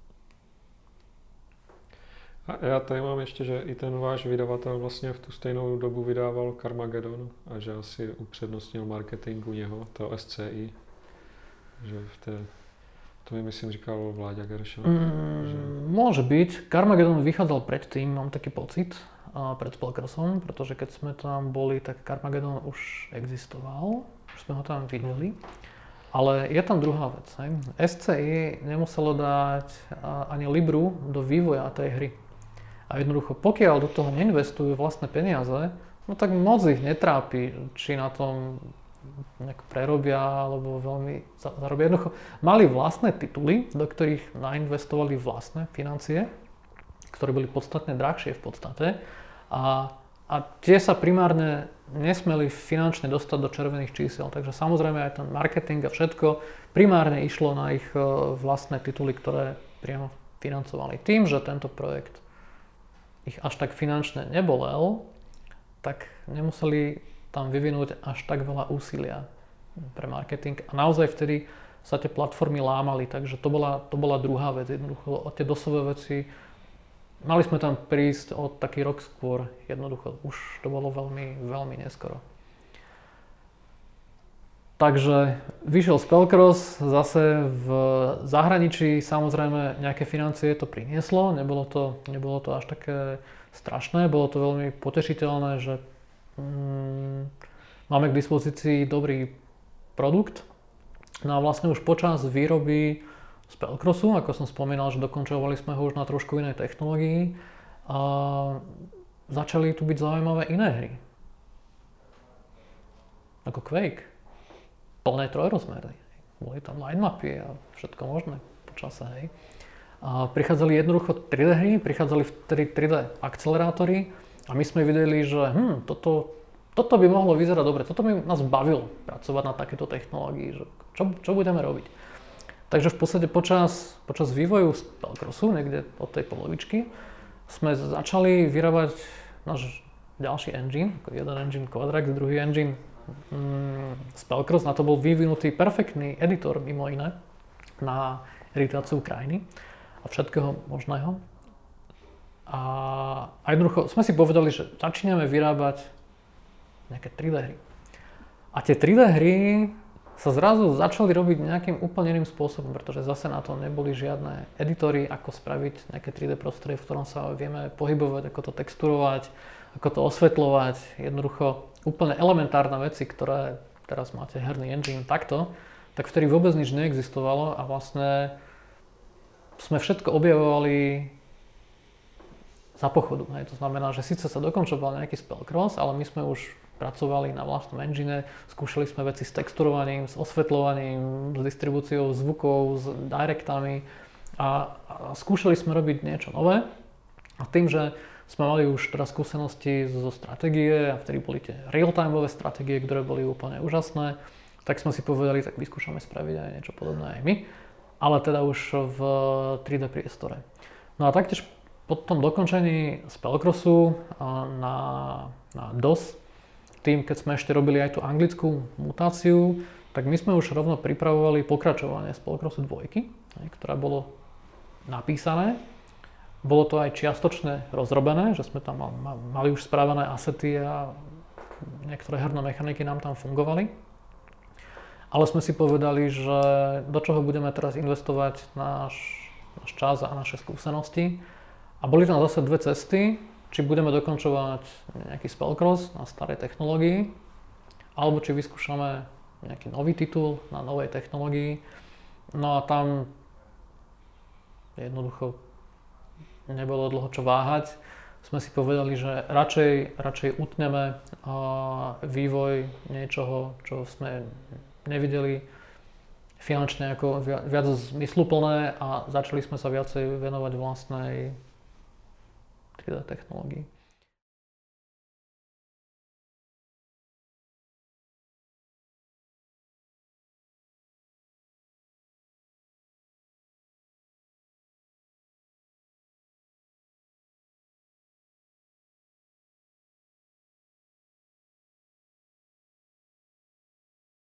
A já tady mám ještě, že i ten váš vydavatel vlastně v tu stejnou dobu vydával Carmageddon a že asi upřednostnil marketing u něho, to SCI, že v té... To mi myslím říkal Vláďa Geršel. Môže byť. Carmageddon vychádzal predtým, mám taký pocit, pred Spellcrossom, pretože keď sme tam boli, tak Carmageddon už existoval, už sme ho tam videli. Ale je tam druhá vec. Hej. SCI nemuselo dať ani libru do vývoja tej hry. A jednoducho, pokiaľ do toho neinvestujú vlastné peniaze, no tak moc ich netrápi, či na tom nejak prerobia, alebo veľmi zarobia. Jednoducho, mali vlastné tituly, do ktorých nainvestovali vlastné financie, ktoré boli podstatne drahšie v podstate. A tie sa primárne nesmeli finančne dostať do červených čísel. Takže samozrejme aj ten marketing a všetko primárne išlo na ich vlastné tituly, ktoré priamo financovali. Tým, že tento projekt ich až tak finančne nebolel, tak nemuseli tam vyvinúť až tak veľa úsilia pre marketing. A naozaj vtedy sa tie platformy lámali, takže to bola druhá vec. Jednoducho o tie dosové veci mali sme tam prísť o taký rok skôr, jednoducho už to bolo veľmi, veľmi neskoro. Takže vyšiel Spellcross, zase v zahraničí samozrejme nejaké financie to prinieslo, nebolo to až také strašné, bolo to veľmi potešiteľné, že máme k dispozícii dobrý produkt. No a vlastne už počas výroby Spellcrossu, ako som spomínal, že dokončovali sme ho už na trošku inej technológii, a začali tu byť zaujímavé iné hry. Ako Quake. Plné trojrozmerné. Boli tam line mapy a všetko možné počase, hej. A prichádzali jednoducho 3D hry, prichádzali vtedy 3D akcelerátory a my sme videli, že toto by mohlo vyzerať dobre, toto by nás bavilo pracovať na takéto technológii, že čo budeme robiť. Takže v podstate počas vývoju Spellcrossu, niekde od tej polovičky, sme začali vyrábať náš ďalší engine, jeden engine Quadrax, druhý engine Spellcross. Na to bol vyvinutý perfektný editor, mimo iné, na editáciu krajiny a všetkého možného. A jednoducho sme si povedali, že začíname vyrábať nejaké 3D hry. A tie 3D hry sa zrazu začali robiť nejakým úplne iným spôsobom, pretože zase na to neboli žiadne editory, ako spraviť nejaké 3D prostredie, v ktorom sa vieme pohybovať, ako to texturovať, ako to osvetľovať. Jednoducho úplne elementárne veci, ktoré teraz máte herný engine takto, tak vtedy vôbec nič neexistovalo a vlastne sme všetko objavovali za pochodu. Hej. To znamená, že síce sa dokončoval nejaký Spellcross, ale my sme už pracovali na vlastnom engine, skúšali sme veci s texturovaním, s osvetľovaním, s distribúciou zvukov, s directami a skúšali sme robiť niečo nové. A tým, že sme mali už teraz skúsenosti zo stratégie a vtedy boli tie real-timeové stratégie, ktoré boli úplne úžasné, tak sme si povedali, tak vyskúšame spraviť aj niečo podobné aj my, ale teda už v 3D priestore. No a taktiež po tom dokončení Spellcrossu na DOS, tým, keď sme ešte robili aj tú anglickú mutáciu, tak my sme už rovno pripravovali pokračovanie Spellcrossu 2, ktoré bolo napísané. Bolo to aj čiastočne rozrobené, že sme tam mali už správané asety a niektoré herné mechaniky nám tam fungovali. Ale sme si povedali, že do čoho budeme teraz investovať náš čas a naše skúsenosti. A boli tam zase dve cesty. Či budeme dokončovať nejaký Spellcross na starej technológii, alebo či vyskúšame nejaký nový titul na novej technológii. No a tam jednoducho nebolo dlho čo váhať. Sme si povedali, že radšej utneme vývoj niečoho, čo sme nevideli finančne ako viac zmysluplné a začali sme sa viacej venovať vlastnej 3D technológií.